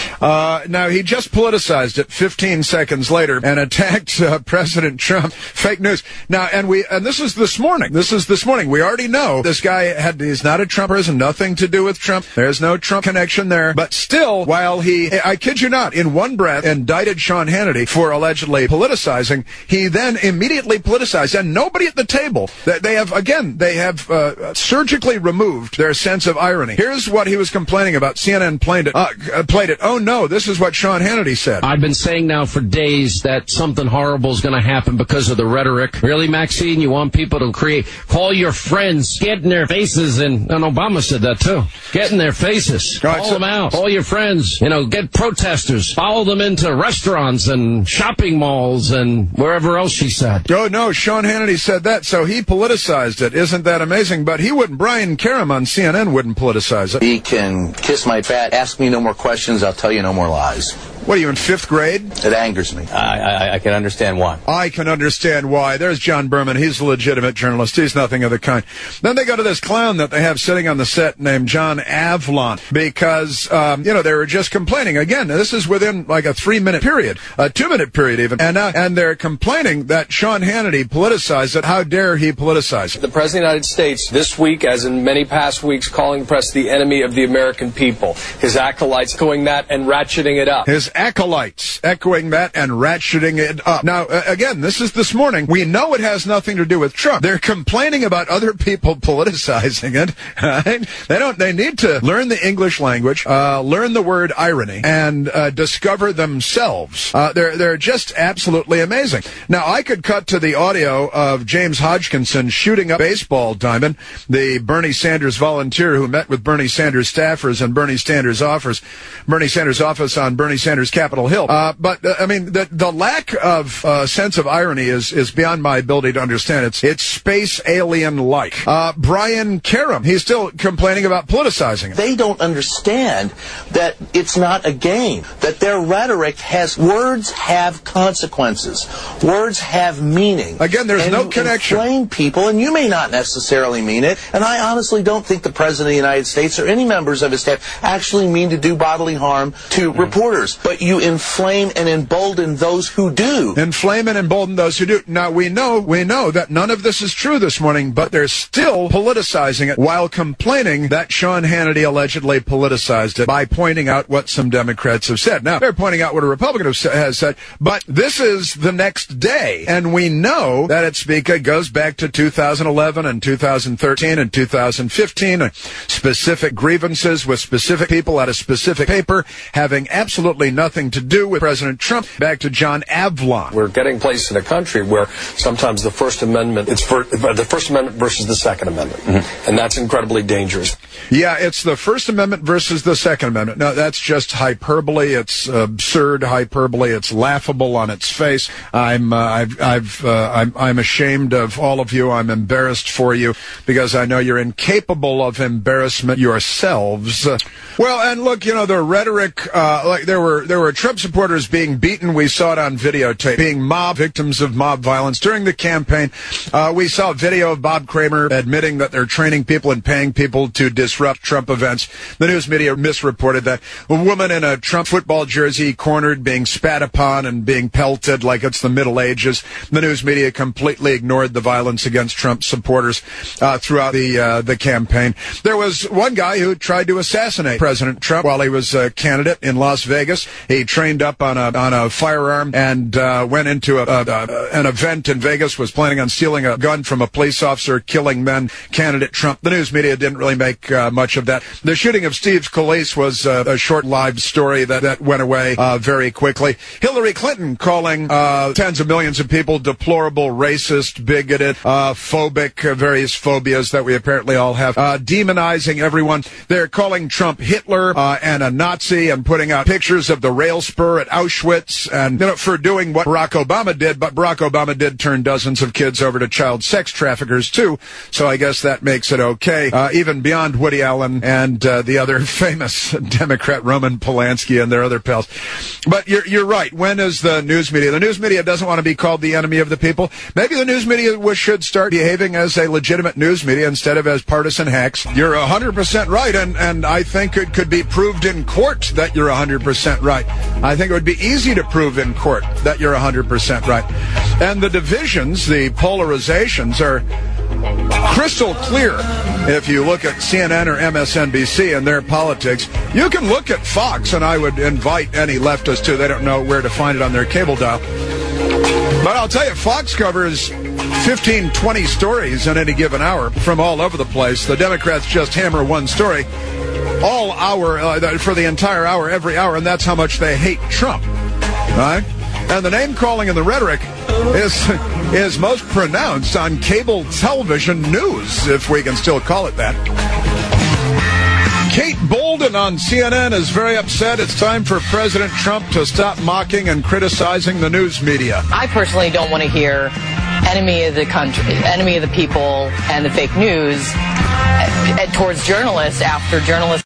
Uh, now, he just politicized it fifteen seconds later and attacked uh, President Trump. Fake news. Now, and we, and this is this morning. This is this morning. We already know this guy had, he's not a Trumper, has nothing to do with Trump. There's no Trump connection there. But still, while he, I kid you not, in one breath indicted Sean Hannity for allegedly politicizing, he then immediately politicized. And nobody at the table, they have, again, they have uh, surgically removed their sense of irony. Here's what he was complaining about. C N N played it. Uh, played it. Oh, no, this is what Sean Hannity said. I've been saying now for days that something horrible is going to happen because of the rhetoric. Really, Maxine? You want people to create, call your friends, get in their faces, and, and Obama said that too. Get in their faces. Right, call so- them out. Call your friends. You know, get protesters. Follow them into restaurants and shopping malls and wherever else she said. Oh, no, Sean Hannity said that, so he politicized it. Isn't that amazing? But he wouldn't, Brian Karem on C N N wouldn't politicize it. He can kiss my fat, ask me no more questions, I'll tell you no more lies. What are you, in fifth grade? It angers me. I, I, I can understand why. I can understand why. There's John Berman. He's a legitimate journalist. He's nothing of the kind. Then they go to this clown that they have sitting on the set named John Avlon because, um, you know, they were just complaining. Again, this is within like a three-minute period, a two-minute period even. And uh, and they're complaining that Sean Hannity politicized it. How dare he politicize it? The President of the United States this week, as in many past weeks, calling the press the enemy of the American people. His acolytes doing that and ratcheting it up. His acolytes echoing that and ratcheting it up. Now, uh, again, this is this morning. We know it has nothing to do with Trump. They're complaining about other people politicizing it. Right? They don't. They need to learn the English language, uh, learn the word irony, and uh, discover themselves. Uh, they're they're just absolutely amazing. Now, I could cut to the audio of James Hodgkinson shooting up baseball diamond, the Bernie Sanders volunteer who met with Bernie Sanders staffers and Bernie Sanders office, Bernie Sanders office on Bernie Sanders Sanders Capitol Hill. Uh, but, uh, I mean, the, the lack of uh, sense of irony is, is beyond my ability to understand. It's, it's space alien-like. Uh, Brian Karam, he's still complaining about politicizing it. They don't understand that it's not a game, that their rhetoric has, words have consequences. Words have meaning. Again, there's and no you connection. Inflame people, and you may not necessarily mean it, and I honestly don't think the President of the United States or any members of his staff actually mean to do bodily harm to mm-hmm. reporters, but you inflame and embolden those who do. Inflame and embolden those who do. Now, we know, we know that none of this is true this morning, but they're still politicizing it while complaining that Sean Hannity allegedly politicized it by pointing out what some Democrats have said. Now, they're pointing out what a Republican has said, but this is the next day, and we know that it's because it goes back to two thousand eleven and two thousand thirteen and two thousand fifteen, specific grievances with specific people at a specific paper having absolutely nothing to do with President Trump. Back to John Avlon. We're getting placed in a country where sometimes the First Amendment, it's for, the First Amendment versus the Second Amendment, mm-hmm. and that's incredibly dangerous. Yeah, it's the First Amendment versus the Second Amendment. No, that's just hyperbole. It's absurd hyperbole. It's laughable on its face. I'm, uh, I've, I've, uh, I'm, I'm ashamed of all of you. I'm embarrassed for you because I know you're incapable of embarrassment yourselves. Uh, well, and look, you know, the rhetoric, uh, like there were, there were Trump supporters being beaten. We saw it on videotape, being mob victims of mob violence during the campaign. Uh, we saw a video of Bob Kramer admitting that they're training people and paying people to disrupt Trump events. The news media misreported that a woman in a Trump football jersey cornered, being spat upon and being pelted like it's the Middle Ages. The news media completely ignored the violence against Trump supporters uh, throughout the uh, the campaign. There was one guy who tried to assassinate President Trump while he was a candidate in Las Vegas. He trained up on a on a firearm and uh, went into a, a, a, an event in Vegas, was planning on stealing a gun from a police officer, killing men. Candidate Trump. The news media didn't really make uh, much of that. The shooting of Steve Scalise was uh, a short-lived story that, that went away uh, very quickly. Hillary Clinton calling uh, tens of millions of people deplorable, racist, bigoted, uh, phobic, uh, various phobias that we apparently all have, uh, demonizing everyone. They're calling Trump Hitler uh, and a Nazi and putting out pictures of the rail spur at Auschwitz and you know, for doing what Barack Obama did, but Barack Obama did turn dozens of kids over to child sex traffickers too, so I guess that makes it okay, uh, even beyond Woody Allen and uh, the other famous Democrat Roman Polanski and their other pals. But you're, you're right. When is the news media? The news media doesn't want to be called the enemy of the people. Maybe the news media should start behaving as a legitimate news media instead of as partisan hacks. You're one hundred percent right, and, and I think it could be proved in court that you're one hundred percent right. I think it would be easy to prove in court that you're one hundred percent right. And the divisions, the polarizations are crystal clear. If you look at C N N or M S N B C and their politics, you can look at Fox, and I would invite any leftist to. They don't know where to find it on their cable dial. But I'll tell you, Fox covers fifteen, twenty stories in any given hour from all over the place. The Democrats just hammer one story all hour, uh, for the entire hour, every hour, and that's how much they hate Trump. All right? And the name-calling and the rhetoric is is most pronounced on cable television news, if we can still call it that. Kate Bolden on C N N is very upset. It's time for President Trump to stop mocking and criticizing the news media. I personally don't want to hear enemy of the country, enemy of the people, and the fake news towards journalists after journalists